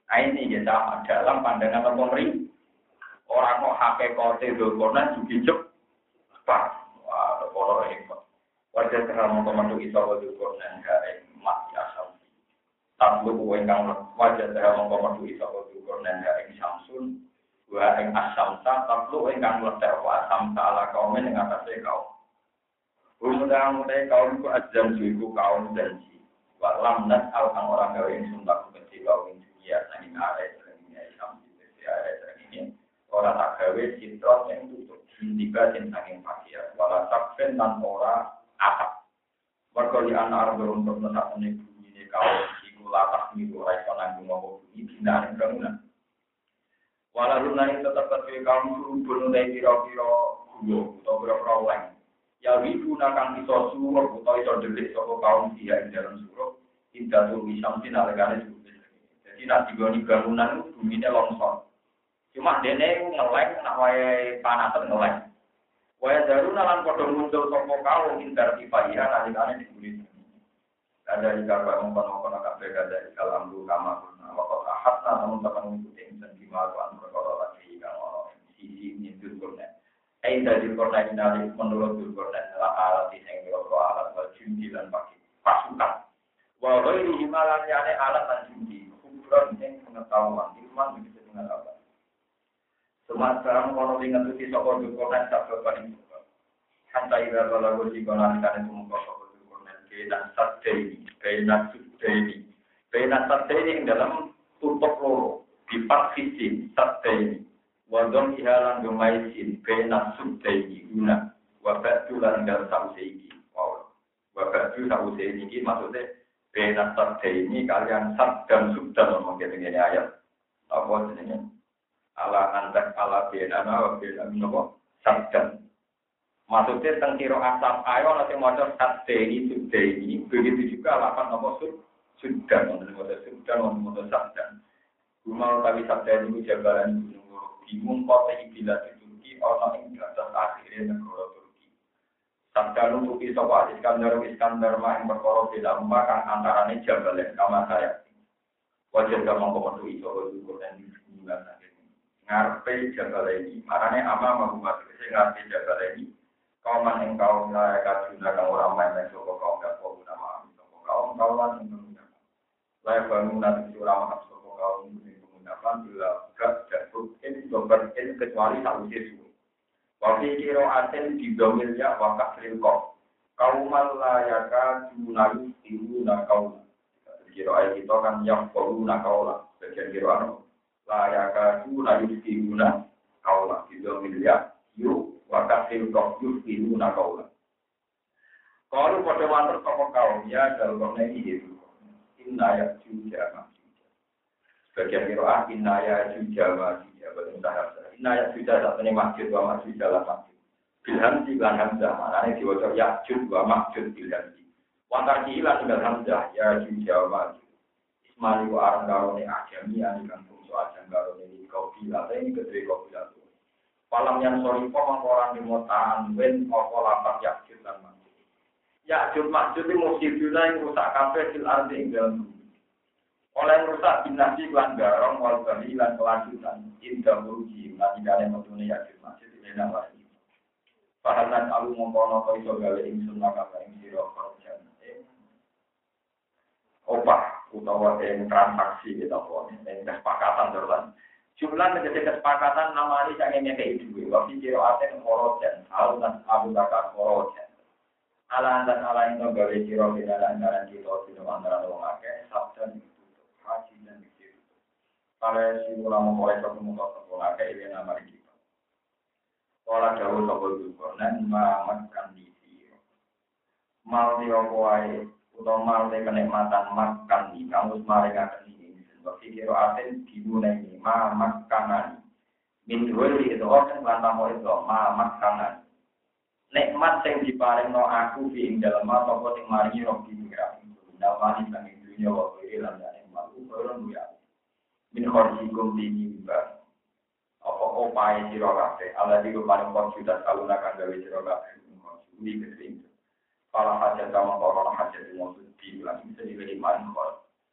Nah, ini ya sama dalam pandangan pemerintah. Orang kok hakikate dokonan juga cepat. Wah, kalau ini wajah terang komando iso dokonan gak mati asal. Tablu ingkang wajah terang komando iso dokonan gak samsun. Wa ing asamsa tablu ingkang letek wa asamsa ala kaum ing atase kaum. Undang utai kaum ku azam iku kaum janji. Wa lam nas al kang ora gawe sumpah kecil kaum dunia saking arek dunia Islam di arek ini. Ora tak gawe sintron yang tutup tiga sing saking pakir wala sakfen lan ora atap mergo li ana arep untuk mesakne bumi kaum iku latah niku ora iso nanggung apa bumi binane bangunan wala lunane tetep kedhe kaum surubun utawa pira-pira gua utawa pira-pira lain ya wibu nakang iso suruh utawa iso delik saka kaum dia ing dalam suruh indatul wisam sinalekane suruh jadi nek digoni bangunan bumine longsor. Cuma dene ngeleng nak wae panasan ngeleng. Wae daruna lan padha muncul sapa kaum indar ifaya nalikane dibuli. Ada ika mongkon-mongkon kabeh kada kalam lu kama kuna wa qad ahadna namun teman ngikuti insan gimana kan perkara lagi kang ono sisi nyindur kurna. Ai dari kurna ini menurut kurna adalah alat sing kira alat wal jindi lan pakai pasukan. Wa ghairi himalan yane alat lan jindi kubron sing pengetahuan ilmu begitu pengetahuan. Semasa orang ingat itu sokor dukungan tak berbanding juga. Hantai berlalu lagu jikonan karena semua sokor dukungan kena sadeni, kena sudeni, kena sadeni dalam tutup loro di part fisik sadeni. Wadon ihalan gemaisin kena sudeni guna. Wabak tulan dan sausegi. Wow. Wabak tu sausegi maksudnya kena sadeni kalian sad dan sudan mungkin ini ayat. Apa jenisnya? Ala antak ala benana wa benana nopo sabdan. Maksudnya tentang kiro asam ayo nanti modal sabdeni subdeni begitu juga lapan nopo sud sudan untuk modal sudan untuk modal sabdan. Rumah tapi sabdan itu jabalan gunung bingung kota ibilah di Turki orang yang berasal akhirnya negara Turki. Sabdan untuk isowa Iskandar Iskandar mah yang berkorok di dalam bahkan antaranya jabalan kamar saya. Wajar gak mengkomando isowa juga dan juga ngarepe jabal ini, makanya ama mengumat itu ngarepe jabal ini. Kaum yang kaum layak kajuna kang orang main yang soko kaum gak kau guna maaf, soko kaum kawan yang menggunakan. Layak bangunan itu orang maaf soko kaum yang menggunakan bila gak dan rutin doberkin kecuali satu jesu. Waktu kiro aten di domilnya wakaf rilkok. Kaum layak kajuna itu nak kaum. Kiro ayat kita kan yang perlu nak kaulah. Bagian kiro anu. Layaka tu layu diuna kaulah tiga miliar yuk wakasil kok yuk diuna kaulah. Kalau pada mantel tokoh kaum ya dalam ini itu inaya juga masih. Sebagian kiroah inaya juga masih ya belum tahap. Inaya juga saat ini masjid wa masjid dalam masjid. Bilhan silan hamzah mana ini diwajib ya juga masjid bilhan si. Wantar silan tinggal hamzah ya juga masjid. Ismali wa arang karone ajami anikan ajang karo ini kopi latte ini kedua kopi latte. Palam yang sorry pom orang di motaan wen apa lapak yakjud dan masjid. Yakjud masjid itu musibah yang rusak kafe sil arti dalam bumi. Oleh rusak binasi lan garong wal bali lan kelanjutan indah merugi lan tidak ada metune yakjud masjid di dalam lagi. Pahanan alu mongkono kau iso gawe ingsun maka ing sira kerja. Opah utawa yang transaksi kita pun, yang kesepakatan terus. Jumlah menjadi kesepakatan nama ini yang ini kayak itu. Waktu kiro aten korojan, al dan abu bakar korojan. Ala dan ala yang gawe kiro bila antara kita tidak antara orang akeh, sabdan itu haji dan itu. Kalau si ulama mulai satu muka satu akeh ini nama kita. Kalau jauh satu juga, nan makan di sini. Mal diokuai. Utama oleh kenikmatan makan di kamus mereka ini sebab kiro aten dimulai ini ma makanan min dua itu orang lantam itu ma makanan nikmat yang diparingno aku di dalam apa sing maringi roh di pikiran dalam ini kang dunia waktu lan ya malu orang ya min khorjikum dini ba apa opae sira kabeh ala di paling konsultas aluna kang gawe sira kabeh ini ketring. Kalau hajat sama orang hajat yang maksud di bilang bisa diberi manfaat.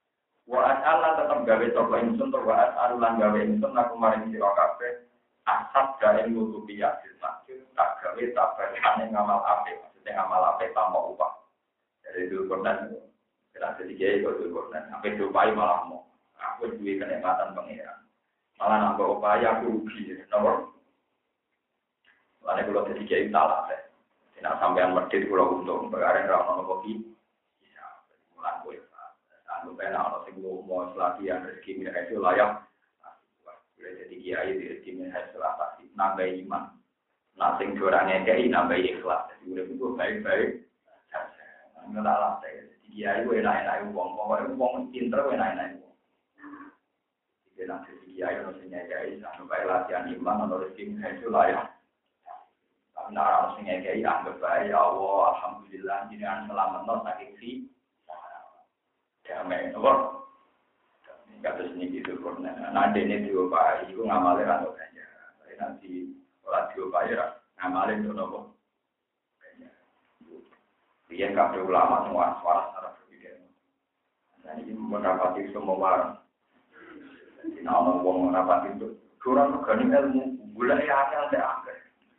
Wa as'alan tetep gawe sapa ingsun to wa as'alan gawe ingsun aku maring sira kabeh asap gawe nutupi yasin masjid tak gawe tabane ngamal apik maksudnya ngamal apik tanpa upah. Jadi itu Quran kira sedikit itu Quran sampai dupai malah mau aku duwe kenikmatan pengiran. Malah nambah upaya aku rugi nomor. Lalu kalau sedikit salah teh. Tidak sampean medhit kula untung perkara ra ono kopi. Bisa mulan kowe. Anu ben ana sing mau latihan rezeki mirip itu layak. Boleh jadi kiai di rezeki mirip salah pasti nambah iman. Nah sing ora ngekeki nambah ikhlas. Jadi urip itu baik-baik. Nggak lah teh. Kiai wae enak-enak wong, pokoke wong pinter wae enak-enak wong. Iki nek kiai ono sing ngekeki anu bae latihan iman ono rezeki mirip itu layak. Nah, orang sing ngekei anggap bae ya Allah, alhamdulillah jenengan selametno saking si damai apa? Kados niki itu pun. Nah, dene diopahi iku ngamale ra ono ganjar. Tapi nanti ora diopahi ra ngamale ono apa? Ganjar. Biyen kabeh ulama semua suara cara berpikir. Nah, iki menapati semua warang. Dina ono wong rapati itu kurang regane ilmu, golek akal teh akeh.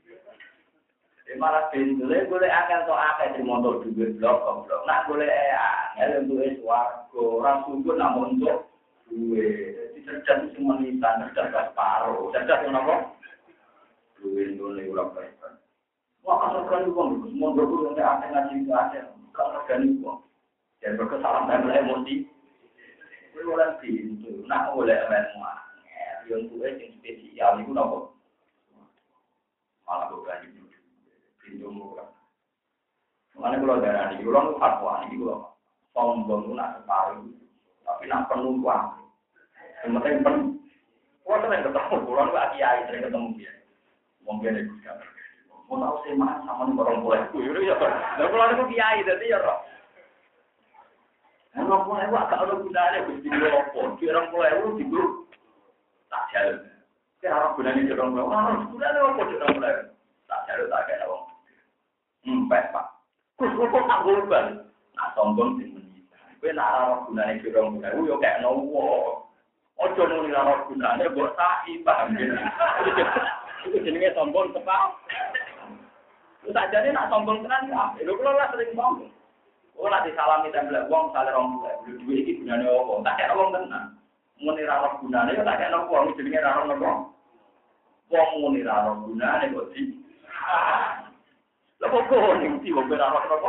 Malah bendele golek akal tok akeh di motor duwe blok blok. Nak golek angel untuk swarga, ora sungguh namun untuk duwe. Dadi cerdas semua nisan, cerdas paro. Cerdas ngono apa? Duwe ndone ora baik. Wah, asal kan wong semua berkudu nek akeh ngaji akeh. Kalau organik wong. Jangan berkesalan dan emosi. Kuwi ora pintu. Nak golek ilmu angel, yo duwe sing spesial iku napa? Malah berani pintu murah. Mana kalau darah di ulang fatwa ini kalau sombong itu nak separuh, tapi nak penuh kuah. Sementara penuh, kuah sering ketemu, ulang itu kiai sering ketemu dia. Mungkin itu kan. Mau tahu sih mas sama nih orang mulai itu, ya kan? Lalu kalau itu kiai jadi ya roh. Orang mulai itu agak ada gunanya, gusti lopo. Orang mulai itu di grup tak jalan. Kira orang gunanya orang mulai, orang gunanya apa orang mulai? Tak jalan tak kayak orang. Empek pak, terus kok tak golban, nak sombong sing menita. Kowe nak ora gunane jero mulai, yo kayak nowo. Ojo muni ora gunane mbok saiki paham ya. Itu jenenge sombong tepak. Wis ajane nak sombong tenan ya. Lho kula lah sering sombong. Ora disalami tembel wong sale rong mulai. Lho duwe iki gunane opo? Tak kira wong tenan. Muni ora gunane yo tak kira wong jenenge ora ono. Wong muni ora gunane kok di Lepas kau yang tiba berawak apa?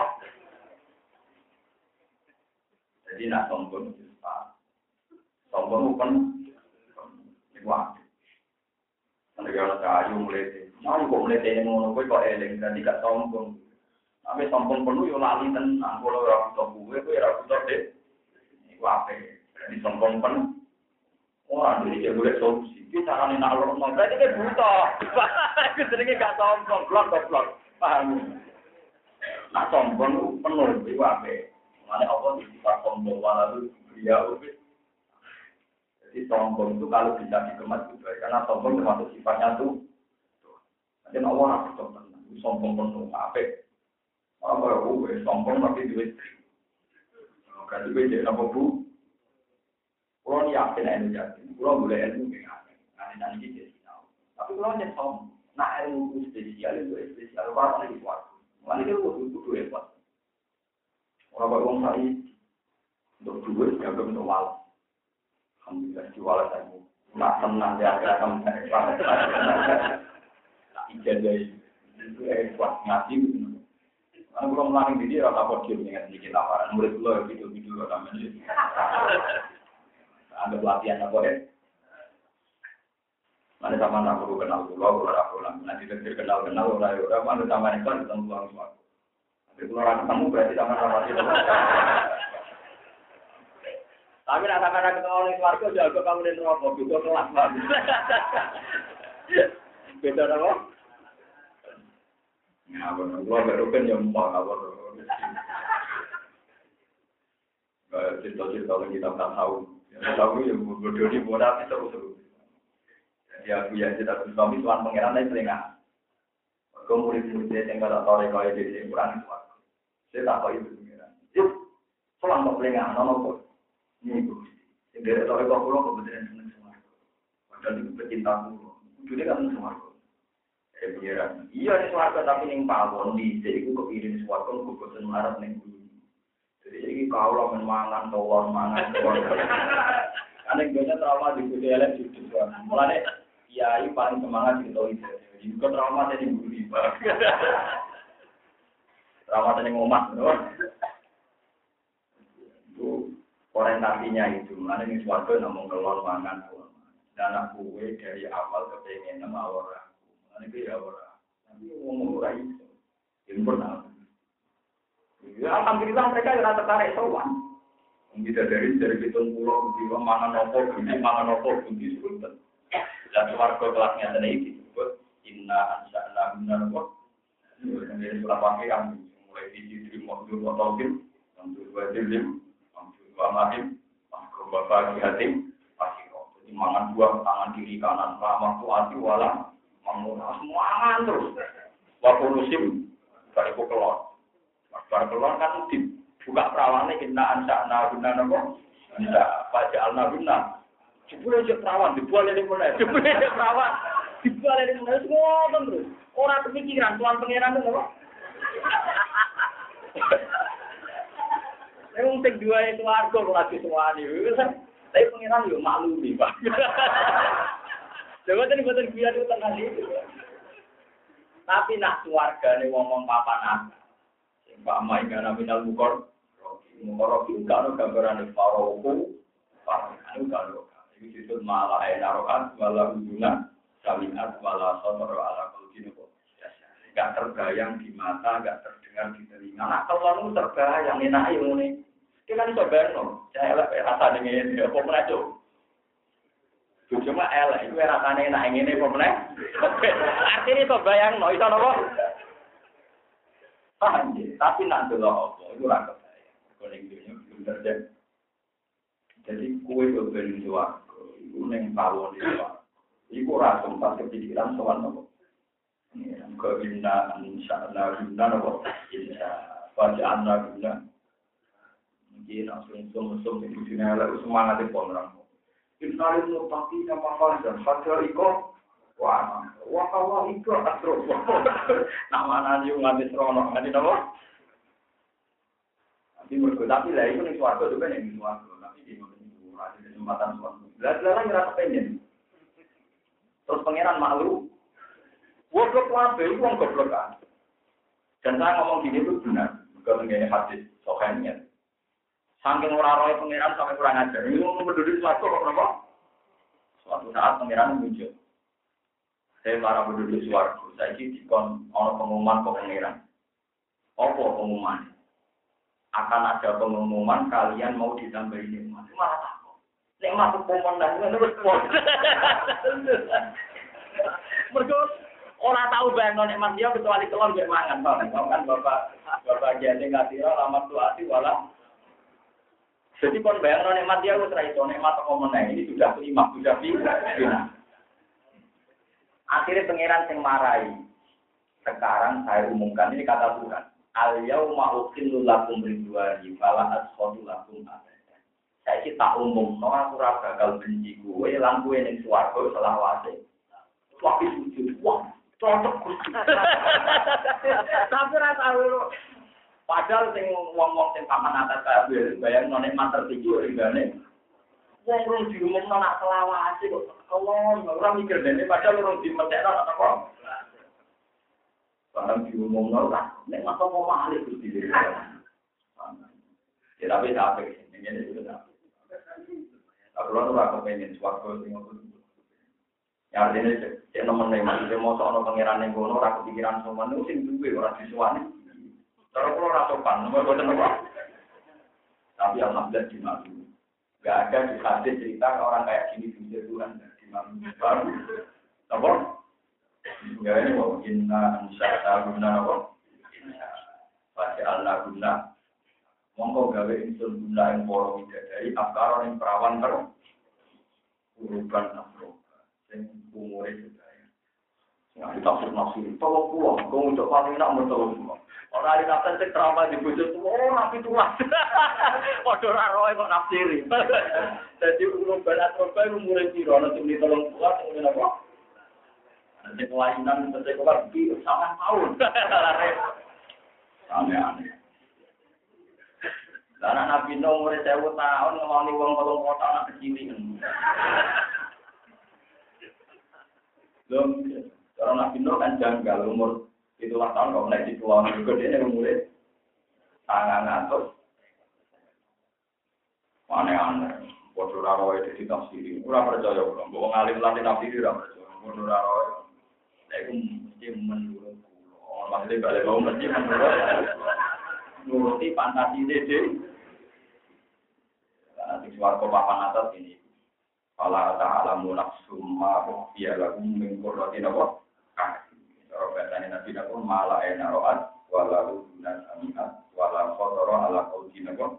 Jadi nak sombong itu sombong bukan kuat. Negara kayu mulai, mau kok mulai tanya mau kau kau eleng dan tidak sombong. Tapi sombong penuh yo lali tenang. Kalau orang tua gue, gue orang tua deh. Ini apa? Jadi sombong penuh. Orang ini dia boleh solusi. Kita kan nak lorong mau. Berarti dia buta. Kita sendiri gak sombong, blok blok. Paham? Nah sombong penuh itu apa? Mana Allah disifat sombong walau dia ubit. Jadi sombong itu kalau bisa dikemas juga karena sombong termasuk sifatnya tuh. Nanti Allah harus sombong, sombong penuh apa? Orang baru gue sombong tapi duit. Kalau duit jadi apa bu? Kalau yakin ilmu yakin, kalau boleh ilmu dengan nanti nanti jadi tahu. Tapi kalau yang sombong, nah ilmu spesial itu spesial apa lagi buat? Mana dia butuh butuh hebat. Orang orang saya untuk duit jaga untuk wal. Alhamdulillah jual saya. Nak tenang dia akan hebat. Tak ijazah itu hebat ngaji. Karena belum melalui diri orang apa dia punya sedikit laporan. Murid lo video video namanya. Anggap latihan apa deh? Mana sama nak perlu kenal pulau, pulau apa lah. Nanti terkenal kenal orang orang mana sama itu ketemu pulau semua. Tapi kalau orang ketemu berarti sama-sama itu. Tapi nak sama-sama ketemu orang keluarga jago kamu di neraka juga kelas banget. Beda apa? Ya benar, pulau baru kan yang mau kabar. Kayak cerita-cerita yang kita tak tahu. Yang tahu yang bodoh di bodoh itu seru-seru. Ya, ya kita suami tuan pangeran lain selingan. Kemudian murid yang kata tahu kalau dia di kurang itu. Saya tak tahu itu pangeran. Yuk, selang tak selingan, nama pun. Ini bu. Sendiri tahu kok pulau kebetulan seneng semua. Padahal itu pecinta pulau. Jadi kan semua. Eh biaran. Iya nih suarga tapi ning pawon di jadi aku kepikiran suarga aku bosan marah ning bulu. Jadi ini kau lah mangan tawar mangan tawar. Aneh biasa trauma di bulu elek jujur suara. Mulane kiai paling semangat di tahu itu. Jadi kau trauma jadi bulu iba. Trauma jadi ngomat, itu orientasinya itu. Mulane ning suarga namung kelon mangan tawar. Dan aku dari awal kepengen nama orang. Ini dia orang, tapi ngomong orang itu, yang benar. Ya, alhamdulillah mereka yang tertarik sowan. Kita dari dari hitung pulau, kita mangan nopo, kita mangan nopo, kita sebutkan. Dan keluarga kelasnya sendiri disebut inna ansa'na benar kok. Kemudian surat Al-Fatihah mulai di sisi modul motogim, modul wajibim, modul wamahim, modul bapak hatim, pasti kok. Jadi mangan dua tangan kiri kanan, ramah tuati walam. Mengulas semuanya terus. Waktu musim, dari kelon. Waktu kelon kan dibuka perawannya kita ansakna guna nopo. Bisa baca alna guna. Jebule aja perawan dibuat dari mana? Jebule aja perawan dibuat dari mana? Semua terus. Orang kepikiran tuan pangeran itu. Saya untuk dua itu warga lagi semua ini. Tapi pangeran juga malu nih pak. Coba tadi betul biar itu tengah itu. Tapi nak keluarga nih ngomong papa nak. Pak Mai karena minal mukor. Mukor itu kalau gambaran faroku. Faroku kalau ini disebut malah enarokan, malah hubungan, salingat, malah sotor, ala kulkinu. Gak terbayang di mata, gak terdengar di telinga. Nah kalau lu terbayang enak ini. Kita kan bisa bayang saya rasa dengan ini apa meracau. Cuma elek itu rasane enak ngene apa meneh. Artine to bayangno iso napa? Paham ya, tapi nak delok apa iku ora kebayang. Kok ning dunya belum terjadi. Jadi kuwe kok ben suwarga, iku ning pawon iki. Iku ora sempat kepikiran sowan apa. Ini kok inna insyaallah inna napa? Insya Allah guna. Mungkin langsung sum-sum di dunia elek semangat e pondram. Innalis mutaqi nama fajar fajar iko wah wah Allah itu asro nama nani nganti serono nganti nama nanti berkata tapi lah itu nih suatu juga nih suatu tapi di mana ada kesempatan suatu belajar ngerasa pengen terus pangeran malu goblok wae itu wong goblok kan dan saya ngomong gini itu benar bukan ngene hadis sokannya. Saking ora roe pangeran sampai kurang ajar. Ini mau berdiri suatu kok kenapa? Suatu saat pangeran muncul. Saya marah berdiri suatu. Saya ini dikon ono pengumuman ke pangeran. Apa pengumuman? Akan ada pengumuman kalian mau ditambahi nikmat. Malah takut. Nikmat pemenang itu terus pon. Mergo ora tahu bayangno nikmat dia kecuali kelon mbek mangan, Pak. Kan Bapak Bapak jane ngatira lamat tuati wala. Jadi kon bayangno nikmat dia wis ra iso nikmat kok meneh ini sudah kelima sudah final. Akhirnya pangeran sing marahi. Sekarang saya umumkan ini kata Tuhan. Al yauma uqillu lakum ridwani fala asqatu lakum abadan. Saiki tak umumno aku ora bakal benci kowe lan kowe ning swarga selawase. Wah sujud wah cocok. Tapi ra tahu padahal sing wong-wong sing paman atas kabeh bayang none mater iki ringane. Wong rong diumumno nak selawase kok kelon ora mikir dene padahal rong dimetekno apa. Barang diumumno ora nek mato mau malih Gusti. Ya tapi sampe ngene iki ta. Aku ora kepengen swarga sing ngono. Ya artine cek nemen maksudnya mosok ana pangeran ning kono ora kepikiran sowan sing duwe ora disuwani. Kalau kalau rasokan, nomor dua apa? Tapi alhamdulillah di malu. Gak ada di hadis cerita orang kayak gini di Tuhan di malu. Baru, apa? Ya ini mau inna ansa'na guna apa? Baca Allah guna. Monggo gawe insun guna yang poro dari akar yang perawan terus. Uruban afro. Yang umurnya sedaya. Ya ditafsir nafsir, tolong pulang, kau untuk paling nak bertolong semua. Orang ahli nafsir cek trauma di bujur semua, oh nabi tuas. Waduh raroy kok nafsiri. Jadi umur berat roba umur piro, nanti beli tolong pulang, kemudian apa? Nanti kelainan, nanti keluar di sama tahun. Aneh-aneh. Karena Nabi Nuh umur sewu tahun ngomongin wong tolong kota anak kecil ini. Belum, kalau Nabi Nuh kan janggal umur itulah tahun kalau naik di pulau juga dia umurnya tangan atas. Aneh-aneh. Bodoh raroy itu ditafsiri. Kurang percaya belum. Bawa ngalim latih tafsiri kurang percaya. Bodoh raroy. Saya itu mesti menurut pulau. Maksudnya balik bau mesti menurut. Nuruti fantasi dede. Nanti suaraku papan atas ini. Kalau ta'alamu nafsum ma'ruf ya lagu mengkurrati nawa. Kalau bahasanya Nabi Nabi malah enak ro'at. Walau dunan aminat. Walau khotoro ala kaudi nawa.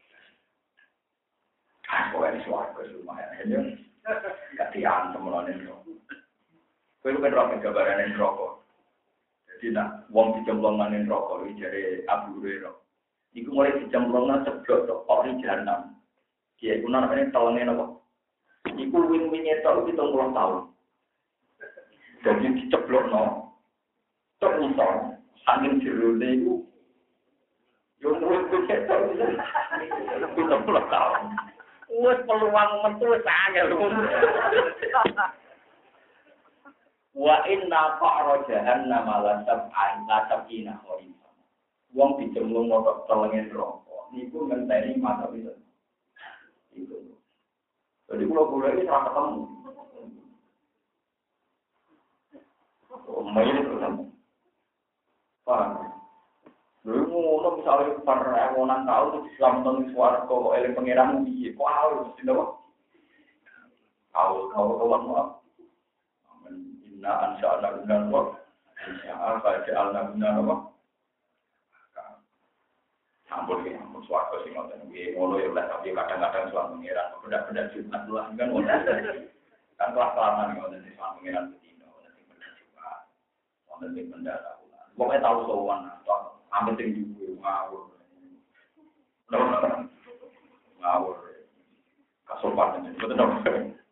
Pokoknya suaraku lumayan. Gak diantem melonin. Kau itu kan rokok gambaran rokok. Jadi nak wong dicemplongan rokok. Ini dari Abu Hurairah. Iku mulai dicemplongan ceblok tok ori jahanam. Kiai kuna namanya tahunnya apa? Iku win-winnya tau hitung puluh tahun. Jadi diceblok no. Terusor, angin jerune iku. Yo win-winnya tau hitung puluh tahun. Wes peluang metu sangat. Wa inna fa'ra jahannam la sab'in la sab'ina kharin. Wong dicemplung motor telengin rokok. Niku ngenteni mata bisa. Itu. Jadi kalau boleh ini serah ketemu. Oh, main ketemu. Paham? Dulu ngono misalnya perewonan tahun itu diselamatkan suara kok eleng pengiran piye? Kok awal mesti napa? Awal kau kawan mau. Amin. Inna ansha'na binan wa insya'a fa'alna binan wa. Ampun ya, ampun suarga sih ngoten iki ngono ya lah tapi kadang-kadang suara pengiran benda-benda Jumat lah kan ngono. Kan kelas-kelasan ngoten sing suara pengiran bedino, ngoten sing benda Jumat. Ngoten sing benda tahunan. Pokoke tau sowan atau amit sing duwe ngawur. Ngawur. Kasopan itu betul dong.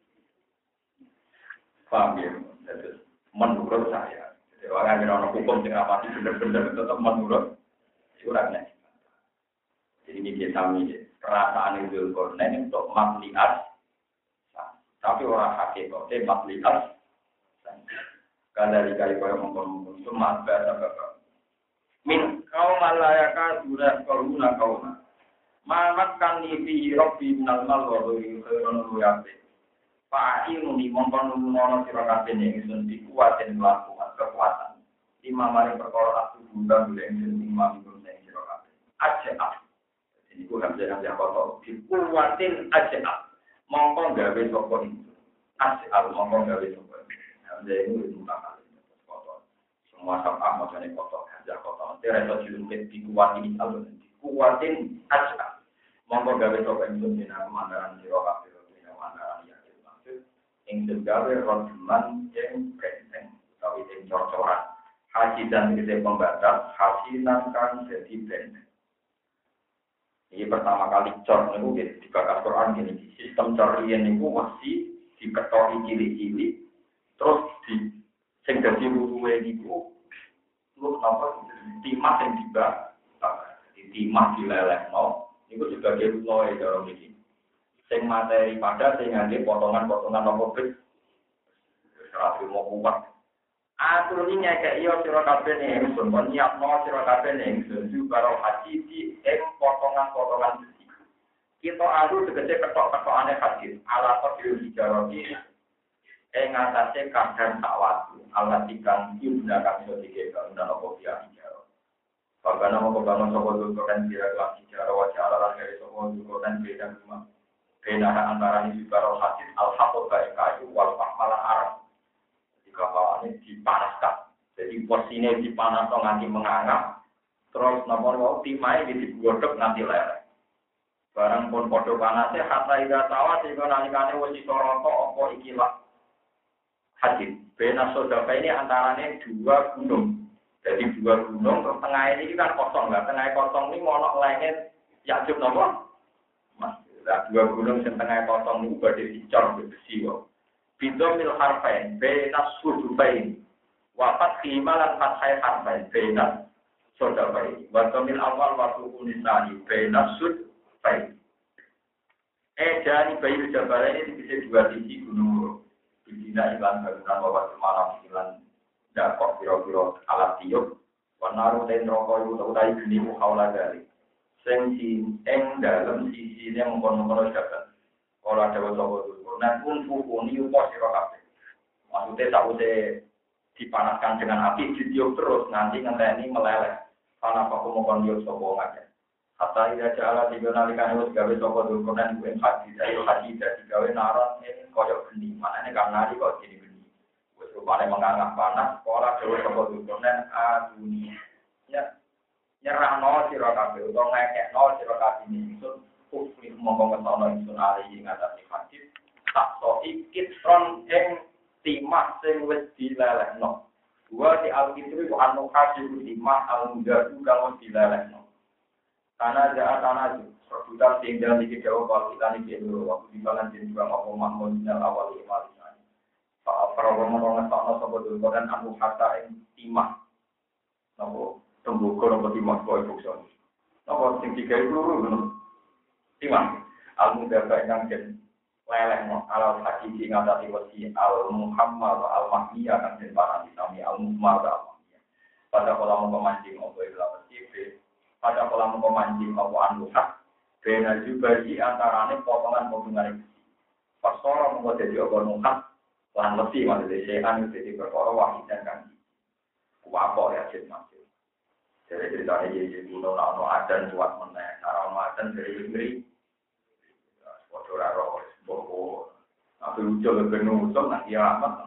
Paham ya? Jadi menurut saya, jadi orang yang orang hukum sing rapati bener-bener tetap menurut suratnya. Jadi ini kami perasaan itu kornen untuk makliat, tapi orang hakikatnya makliat. Kalau dari kali kau mengkonon semua bahasa bapak. Min kau malayaka sudah koruna kau na. Mamat kan ibi robi nalmal wabui keron luyape. Pak ilmu ni mengkonon mono sirokaten yang isun dikuatin melakukan kekuatan. Lima mari perkara aku bunda boleh isun lima minggu yang sirokaten. Aja ini gue nggak bisa ngasih apa-apa. Dikuatin aja. Mongkong gawe sopo itu. Asyik mongkong gawe sopo itu. Jadi ini itu muka kali. Semua sama maksudnya kotor. Aja kotor. Nanti reso cilungkit dikuatin alun. Dikuatin aja. Mongkong gawe sopo itu. Dina kemandaran sirokapi. Dina kemandaran yakin. Maksud. Yang gawe rojuman yang brenteng. Tapi yang cor-coran. Haji dan kita pembatas. Hasinan kan jadi brenteng. Ini pertama kali cor niku di bakas Quran gini. Sistem cor riyen niku masih diketori cilik-cilik terus di sing dadi luruhe niku lu napa timah sing dibak di timah dilelehno niku sebagai luruhe cara iki. Sing materi pada sing ngangge potongan-potongan apa bit ora mau kuat. Atur ini nyekek iyo sira kabeh ning ingsun, kon nyiapno sira kabeh ning ingsun karo haji di ing potongan-potongan besi. Kita alu tegese ketok-ketokane haji, ala kodil hijarati ing atase kadang sak watu, ala dikang yunda kang iso dikek undang apa dia hijarah. Bagaimana mau kebangun sapa dulu kan kira kelas hijarah wajah ala dari sapa dulu kan beda rumah. Beda antara hijarah haji al-haqq kayu wal fahmal arab. Kapalannya dipanaskan, jadi porsinya dipanas nganti mengangkat, terus nomor mau timai digodok nanti leleh. Barang pun podo panasnya, kata ida sawah sehingga nalikane wajib soroto opo ikilah haji. Bena Sodafa ini antaranya dua gunung. Jadi dua gunung, terus tengah ini kan kosong lah. Tengah kosong ini monok lainnya Yakjub nopo. Mas, nah, dua gunung yang tengah kosong ini berarti dicor besi kok. Bidomil harfain, Bena Sodafain. Wafat khimalan fathai harfain, Bena Sodafain. Watomil awal waktu unisani, Bena Sodafain. Eh, jadi bayi Jabal ini bisa dua sisi gunung. Bidina iklan bangunan bahwa semalam iklan dakok biro-biro alat tiup. Wanaru ten rokok itu utai geni muhawla dari. Sing si eng dalam sisi ini mengkono-kono Jabal. Kalau ada wasobo dulu. Nah pun fukuni upos siro kafe. Maksudnya sausnya dipanaskan dengan api ditiup terus nanti ngenteni meleleh. Karena aku mau kondius sobo aja. Hatta ida jala tiga nalikan itu gawe sopo dulkonan gue haji dari haji dari gawe naron ini koyok geni mana ini karena di kok jadi geni gue rupanya menganggap panas sekolah gawe sopo dulkonan a dunia ya nyerah nol sirokabe atau ngekek nol sirokabe ini itu kufri mongkong ketono itu alih ngatasi haji tak so ikit ron eng timah sing wis dilelehno gua di alkitri ku anu haji timah almuda juga wis dilelehno tanah jahat tanah itu, perbuatan sehingga dikit jauh kalau kita nih dulu waktu di balan jadi juga mau mahmud dari awal lima ini. Pak Prabowo mengenai soal soal dulu dan anu harta yang timah, nopo tembuko nopo timah boy bukson, nopo sing tiga itu dulu timah, almu dapat yang jen leleh no, al haji singa tadi wasi al Muhammad al Mahmiyah kan jen para ditami al Muhammad al Mahmiyah. Pada kalau mau memancing opo ilah bersih. Pada kolam pemancing maupun anduhak, bena juga di antaranya potongan-potongan besi. Pasora membuat jadi obor muhak, lan besi maksudnya sehan jadi perkara wahid dan kanji. Wapok ya cip masuk. Jadi ceritanya jadi kuno nano adan buat meneng, arah adan dari negeri. Wajar arah bobo, tapi ucap benar ucap nanti amat.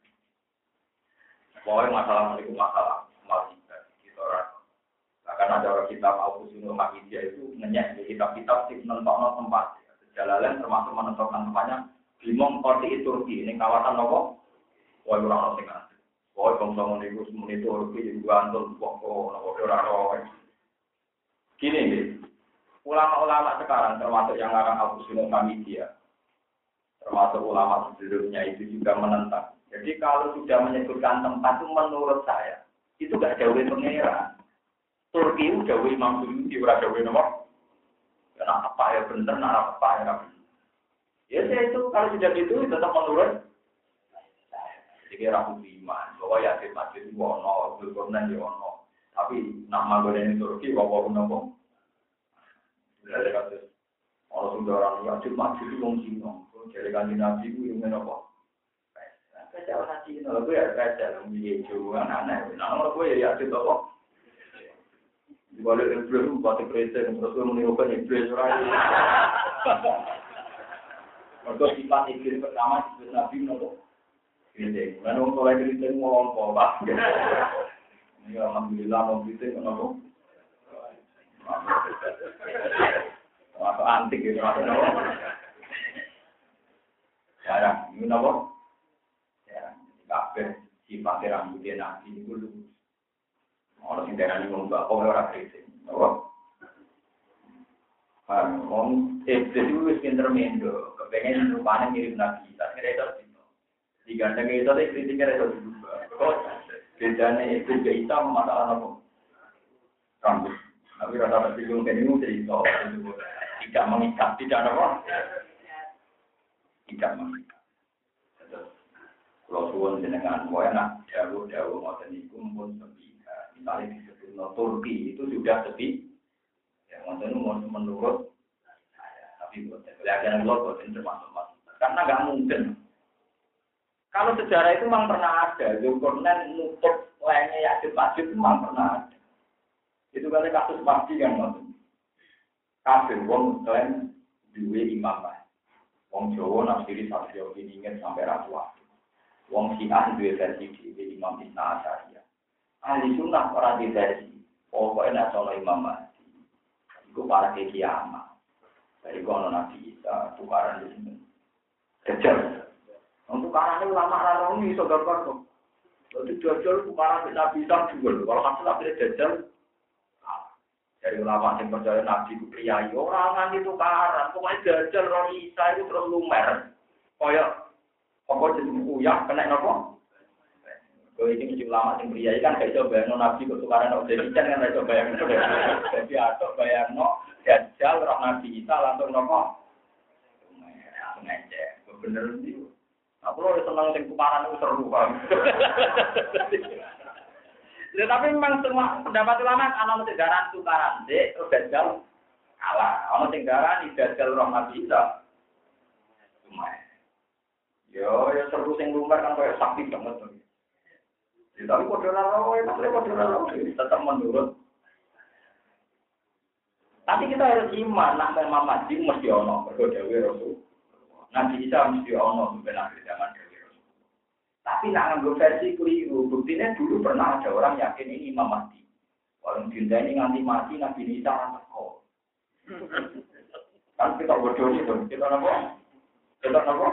Pokoknya masalah itu masalah masih kita orang. Karena ada orang kitab Al-Qusunul Hamidiyah itu ngenyek di kitab-kitab sih menentukan tempat. Jalalan termasuk menentukan tempatnya Bimong Korti Turki. Ini kawasan apa? Wah, orang orang tinggal. Wah, bangsa itu semua itu Turki juga antul pokok, orang-orang. Gini nih, ulama-ulama sekarang termasuk yang ngarang Al-Qusunul Hamidiyah, termasuk ulama sebelumnya itu juga menentang. Jadi kalau sudah menyebutkan tempat itu menurut saya itu gak jauh dari pengeran. Turki itu jauh Imam Suyuti, ora jauh nomor. Karena apa ya benar, nah apa ya benar. Ya saya itu kalau sudah gitu tetap menurut. Jadi ragu iman, bahwa ya di masjid itu ono, berkorban di ono. Tapi nama gue ini Turki, bawa nopo. Ada kasus orang sundaran ya di masjid itu wong Cina. Jadi kan di Nabi itu yang nopo. Kaca orang Cina, gue ya kaca, lebih jauh aneh. Nama gue ya di nopo. Balik iblis buat presiden terus menirukan iblis orang. Untuk sifat iblis pertama disebut Nabi nopo. Ini, lalu mulai kritik ngomong apa? Ini alhamdulillah mau kritik nopo. Masuk antik gitu masuk nopo. Jarang, ini nopo. Ya, kabeh sifat rambutnya Nabi itu lu. Orang sing darani ngomong kok ora kritik. Oh. Ah, wong iblis itu wis pinter mendo, kepengen rupane mirip Nabi. Tak kira itu sih. Digandeng itu teh kritiknya itu juga. Kok bedane iblis ke Isa masalah apa? Rambut. Tapi rata-rata bingung kan ini cerita tidak mengikat, tidak apa? Tidak mengikat. Kalau suwon jenengan mau enak, jauh-jauh ngoten niku mumpun sepi. Misalnya disebut Turki itu sudah sepi, ya maksudnya menurut saya, tapi buat pelajaran global itu termasuk masuk, karena nggak mungkin. Kalau sejarah itu memang pernah ada, Zulkarnain nutup lainnya Ya'juj Ma'juj itu memang pernah ada. Itu kali kasus pasti kan maksudnya. Kafir wong klaim duwe imam lah, wong Jawa nafsiri satu ini ingin sampai ratuan, wong Syiah duwe versi di Imam Isna Asyariyah. Ahli sunnah orang di versi, pokoknya nasional Imam Mahdi, itu para kiamat. Dari kono Nabi Isa, tukaran di sini. Kejar. Untuk karena ulama rarong ini saudara kok. Jadi jajal bukan tidak bisa jual. Kalau hasil akhirnya jajal, dari ulama yang percaya nabi itu priayi orang itu karan. Pokoknya jajal roh Isa itu terus lumer. Kayak apa jadi uyah kena nopo. Kalau ini mesti ulama yang priayi kan kayak coba yang nabi kesukaran nabi jadi kan kayak coba yang jadi atau bayang no jajal roh nabi Isa langsung nopo. Langsung aja, bener sih. Aku loh senang sing tukaran itu seru kan. Ya, tapi memang semua pendapat ulama ana mesti garan tukaran dek terus dajal kalah. Ana sing garan dajal roh Nabi Isa. Cuma yo yo seru sing lumer kan koyo sakti banget. Ya, tapi padha ora kowe tapi padha ora tetap menurut. Tapi kita harus iman nak Imam Mahdi mesti ono mergo dawuh Rasul. Nabi Isa mesti ono sampai akhir zaman dhewe. Tapi nak nganggo versi keliru, buktinya dulu pernah ada orang yakin ini Imam Mahdi. Orang dinda ini nganti mati Nabi Isa ora teko. Kan kita bodoh itu, kita napa? Kita napa?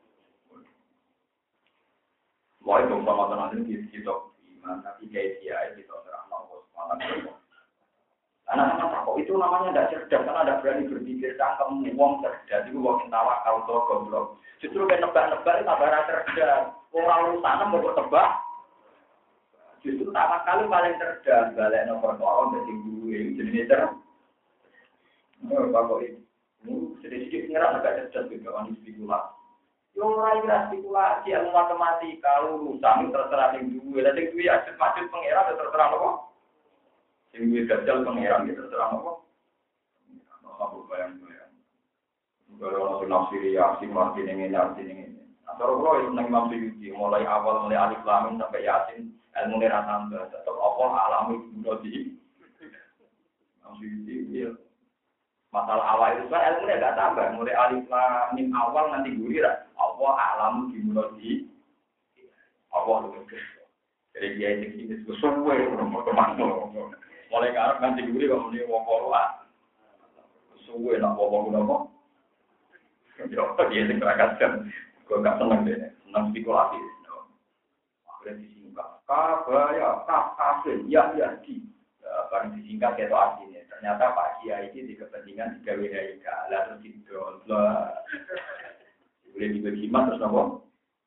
Wah itu sama tenan iki kita iman tapi kayak dia kita terang mau malam. Anak-anak kok itu namanya tidak cerdas karena tidak berani berpikir cangkem wong cerdas itu wong tawakal to goblok. Justru kan nebak-nebak itu tambah cerdas. Ora urusan mbok tebak. Justru tawakal paling cerdas balik nomor perkara dadi duwe jenenge cerdas. Oh bapak ini sedikit ngira agak cerdas juga kan spekulasi. Yo ora ira spekulasi ilmu matematika urusan terserah ning duwe. Lah sing duwe aja maksud pengira terserah apa? Sing wis dajal pangeran gitu terang apa? Apa bayang-bayang. Kalau nafsiri ya si mati ning ngene arti ning ngene. Asal kula itu nang Imam Suyuti mulai awal mulai alif lam sampai yasin ilmu ora tambah tetep apa alam itu di Imam Suyuti ya. Masalah awal itu kan ilmu enggak tambah mulai alif lam mim awal nanti gurir apa alam di mulai apa itu. Jadi dia ini sesuai nomor teman-teman. Mulai ngarep nanti guri kok muni wong koroa. Suwe nak wong ngono. Yo dia sing keragasan. Kok gak seneng deh, seneng spekulasi. Akhirnya disingkat. Kabaya, kaf, kafir, ya, ya, di. Barang disingkat itu artinya. Ternyata Pak Kiai ini di kepentingan tiga W H I K. Lah terus didol. Boleh dibagi mas terus nopo.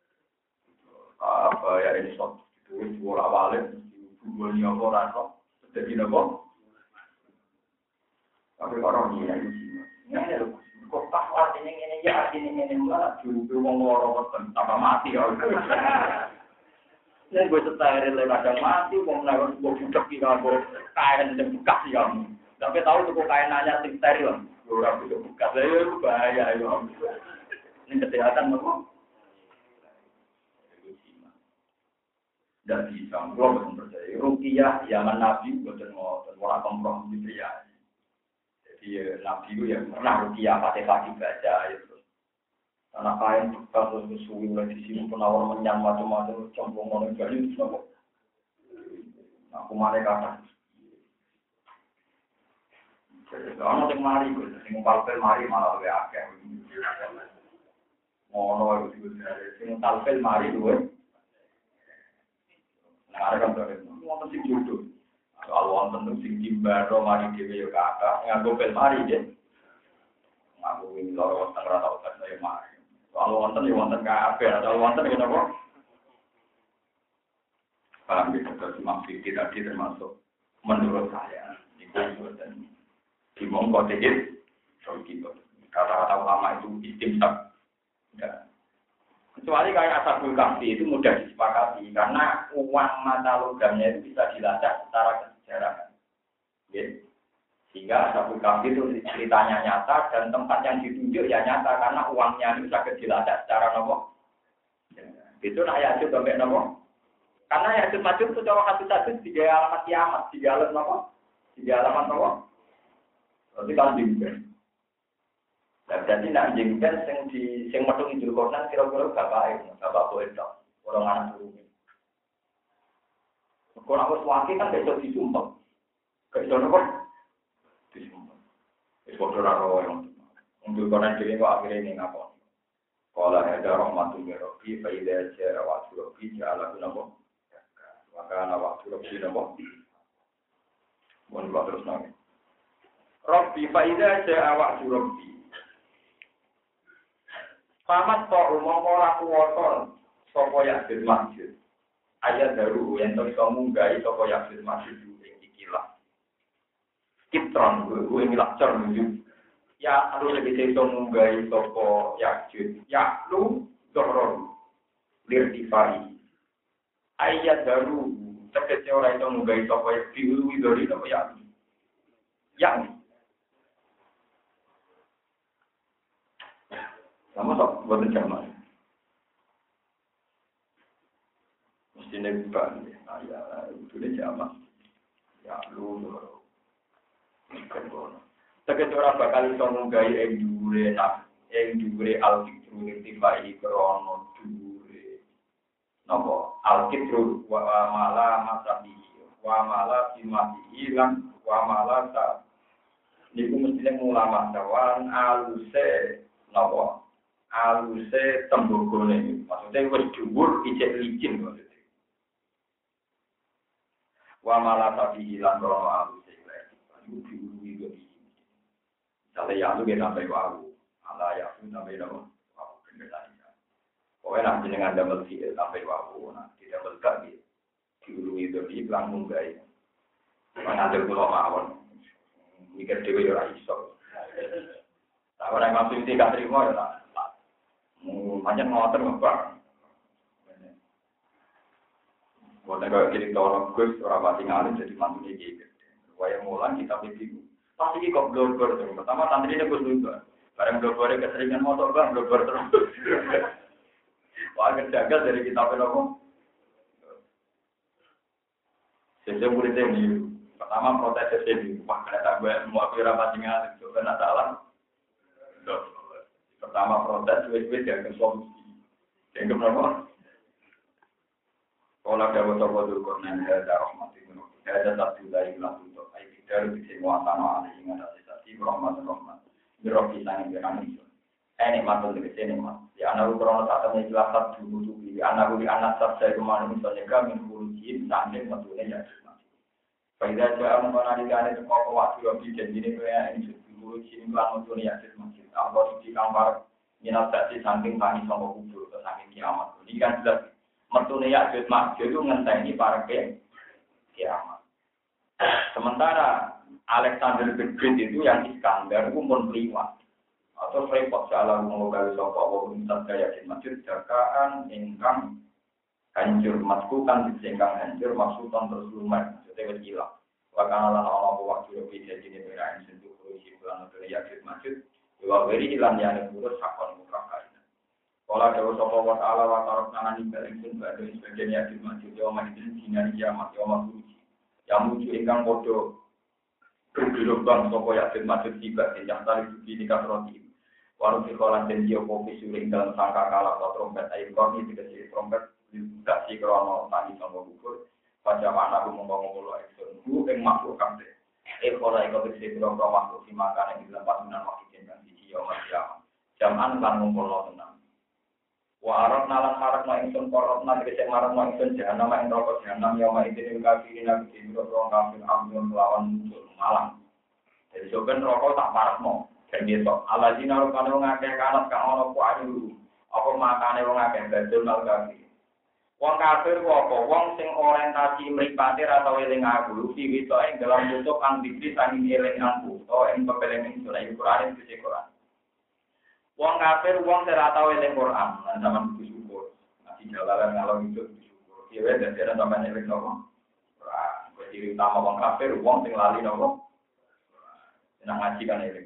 Kabaya ini sok. Itu bola balik. Dua nyoba rasa. Jadi nopo. Tapi orang ini yang ini loh. Kok tak artinya ini ya artinya ini malah juga wong loro wonten apa mati ya. Nek gue setare le kadang mati wong nek kok budak iki karo kain sing bekas ya. Tapi tahu tuh kain nanya sing steril. Ora bisa bekas. Lah itu bahaya ya. Ini kesehatan nopo. Dan bisa, kalau betul percaya, rukiah zaman Nabi betul mau orang kompromi ya. Jadi Nabi itu yang pernah rukiah pakai kaki baca itu. Anak kain bekas terus suwi lagi sini penawar menyang macam-macam campur mana jadi itu apa? Aku mana kata? Kalau yang mari, yang palpel mari malah lebih akeh. Mono itu juga, yang palpel mari dua. Nah, kan terus wonten sing jodoh. Soal wonten sing timbaro mari dhewe yo kakak, nganggo bel mari nggih. Nganggo wing loro wonten ora tau kan saya mari. Soal wonten yo wonten kabeh, soal wonten yo napa? Paham iki terus maksud tadi termasuk menurut saya niku wonten di mongko dikit kita. Kata-kata ulama itu istimsak. Enggak. Kecuali kayak Ashabul Kahfi itu mudah disepakati karena uang mata logamnya itu bisa dilacak secara kesejarahan. Ya. Sehingga Ashabul Kahfi itu ceritanya nyata dan tempat yang ditunjuk ya nyata karena uangnya itu bisa dilacak secara nopo. Ya. Itu nak Ya'juj sampai nopo. Karena Ya'juj Ma'juj itu cara hadis-hadis tiga alamat kiamat, tiga alamat nopo, tiga alamat nopo. Berarti kan dibuat. Nah, jadi nak jengkel sing di sing metu Idul Kornan kira-kira bapak itu, bapak boleh tak orang anak turun. Kalau aku suami kan besok disumpah, besok apa? Disumpah. Besok orang orang yang Idul Kornan jadi kok akhirnya ini ngapa? Kok Qala hada rahmatun min rabbi fa idza jaa wa'du rabbi ja'ala lahu wa kana wa'du rabbi lahu. Mun terus nang. Rabbi fa idza jaa wa'du rabbi. Pamat to umum ora kuwata sapa yakin masjid. Ayat daru yang iso munggahi sapa yakin masjid ing ikilah. Kitron kuwi milakcer menuju ya harus lebih iso munggahi sapa yakjud. Ya lu dorong lirtifai. Ayat daru tegese ora iso munggahi sapa yakjud widori sapa ya. Ya. Sama sok buat jamaah. Mesti nebak ya. Ya, itu dia jamaah. Ya lu. Tegese ora bakal iso munggahi ing dhuwure nak ing dhuwure al-fitru irtifai krono dhuwure. Napa? Al-fitru wa mala masabi wa mala simati lan wa mala ta. Niku mesti ulama dawan aluse napa? Aluse tembogone. Maksudnya wis dhuwur ijek licin maksudnya. Wa mala tabi lan krono aluse iku diuruwi kok iki. Sampai ya lu kita sampai wau. Ala ya pun sampai nama. Wau bener tadi. Pokoknya nanti dengan double fiil sampai wau. Nah, tidak belak di diuruwi itu di langsung guys. Mengatur pulau mawon. Mikir dewe ora iso. Lah ora masuk tidak terima ya lah. Macam ngotor ngapa. Bukan kalau kita orang Gus orang pasti ngalim jadi mantu gitu. Waya mulan kita bingung. Pasti kok blogger terus. Pertama santri ini Gus juga. Bareng blogger keseringan motor bang blogger terus. Wah kejagal dari kita apa? Sejak murid ini pertama protes ini. Wah kena gue mau kira pasti ngalim. Coba nak salah. Pertama protes, wes-wes ya ke solusi. Yang keberapa? Kalau ada betul-betul korban ada rahmat itu, ada satu dari belah untuk ayat dari semua tanah ada yang ada sisi rahmat rahmat. Beropi sangat berani. Ini matul dari sini mas. Ya anak ukuran saat ini jelas satu butuh di anak di anak saya kemarin misalnya kami mengurusi sampai betulnya ya. Pada jam mana di sana semua waktu lebih jadi ini kayak ini dulu sini kelas untuk ya masjid. Allah di kamar minat tadi samping tani sama kubur ke samping kiamat. Ini kan jelas mertune ya masjid itu ngenteni para ke kiamat. Sementara Alexander the Great itu yang Iskandar itu pun liwat. Atau repot salah mengogali sapa wa minat kaya masjid jakaan ingkang hancur maskukan disengkang hancur maksudan terus lumer. Maksudnya hilang. Wakana lan ana waktu lebih jadi ini berain sentuh kursi bulan atau yakin masjid. Dua beri hilang yang urus sakon mutlak. Kalau ada sapa wa ta'ala wa tarok nangani balingsun badhe sebagian yakin masjid yo manjen sinar kiamat yo mabuji. Yang muju ingkang padha bergelobang sapa yakin masjid tiba ing tali suci di kasroti. Waru sikolan den yo kopi suling dalam sangka kala trompet ayo korni dikasih trompet dikasih krono tani sanggo kubur. Pada mana aku ngomong-ngomong lo ekson, ku ing makhluk kabeh. Eh ora iku bisa kira-kira makhluk si makan yang dilepas menan wakil jeneng siji yo masyam. Jaman lan ngumpulno tenang. Wa arab nalan harap no ingsun korot na dikecek marap no ingsun jahanam ing rokok jahanam yo ma idin kafirin nabi dino rong kafir amdun melawan muncul malang. Jadi soben rokok tak marap no. Dan besok alazina rupane wong akeh kanat kang ana ku ayu. Apa makane wong akeh badul mal kafir. Wong kafir apa? Wong sing orientasi mripate ra tau eling aku, iki iso ing dalam bentuk kang diberi saking eling aku, to ing pepelengan surah Al-Qur'an iki Quran. Wong kafir wong sing ra tau eling Quran, lan sampean bersyukur. Masih jalalan ngalor itu bersyukur. Ki wae dadi ana sampean eling nopo? Quran. Kuwi ciri utama wong kafir wong sing lali nopo? Senang ngaji kan eling.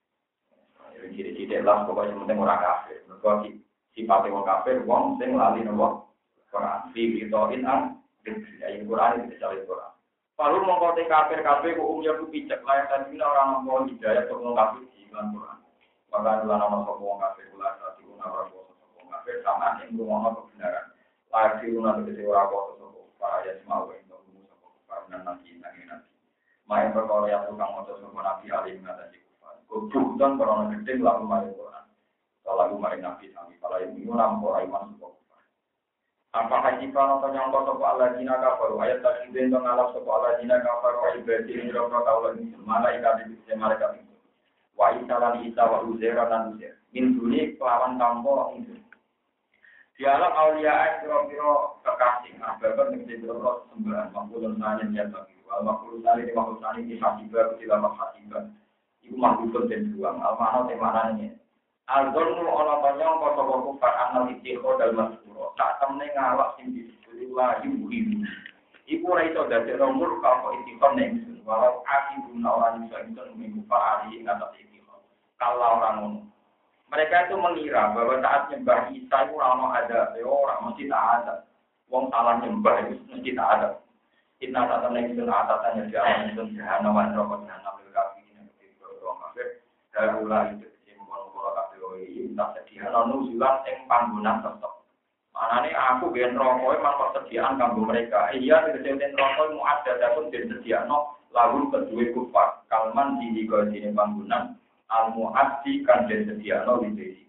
Eling ciri-ciri lah pokoknya penting ora kafir. Mergo sifate wong kafir wong sing lali nopo? Quran fi bitoin an ayat Quran itu dari Quran. Palu mengkote kafir-kafir ku umumnya ku picek layak tadi orang mau hidayah untuk mengkafir di dalam Quran. Maka adalah nama sapa wong kafir ulah satu guna ora sapa wong kafir sama ing rumono kebenaran. Layak diuna tegese ora sapa para ya semau ing tunggu sapa para nabi nabi nabi. Main perkara ya tukang maca sapa nabi alim ngatasi kufar. Kubutan para gedhe lalu maring Quran. Kalau maring nabi sami kalau ini nampo iman sapa. Apakah jika nonton yang kau sapa Allah dina kafaru ayat tadi den ngalap sapa Allah dina kafaru wa ibadi ing roh kaula ing malaikat iki malaikat itu. Wa isalan isa wa uzair lan uzair. Min duni kelawan tampo ing dialog aulia kira-kira kekasih ababan ing jero sembahan makulun sanen ya bagi wal makulun sari di makulun sari di hasiba dilamak hasiba iku makulun den buang almano temanane Al-Zonu ana panjang kota kufar anal istiqo dal masuro. Tak temne ngalak sing disebut lagi muhim. Iku ora iso dadi nomor kapa istiqo ning walau akibun orang iso iso mengkufar ali ing atas istiqo. Kalau orang ngono. Mereka itu mengira bahwa saat nyembah Isa itu ora ada, ya ora mesti tak ada. Wong salah nyembah itu mesti tak ada. Inna ta temne iso atasannya di alam itu jahanam wa neraka jahanam lil kafirin iki orang kafir. Darula itu tak sediaan nuzulan ing panggonan tetep. Manane aku ben rokok emang persediaan kanggo mereka. Iya tegese rokok mu ada dapun den sediano lagu kedue kufar. Kalman di digone panggonan al muaddi kan den sediano di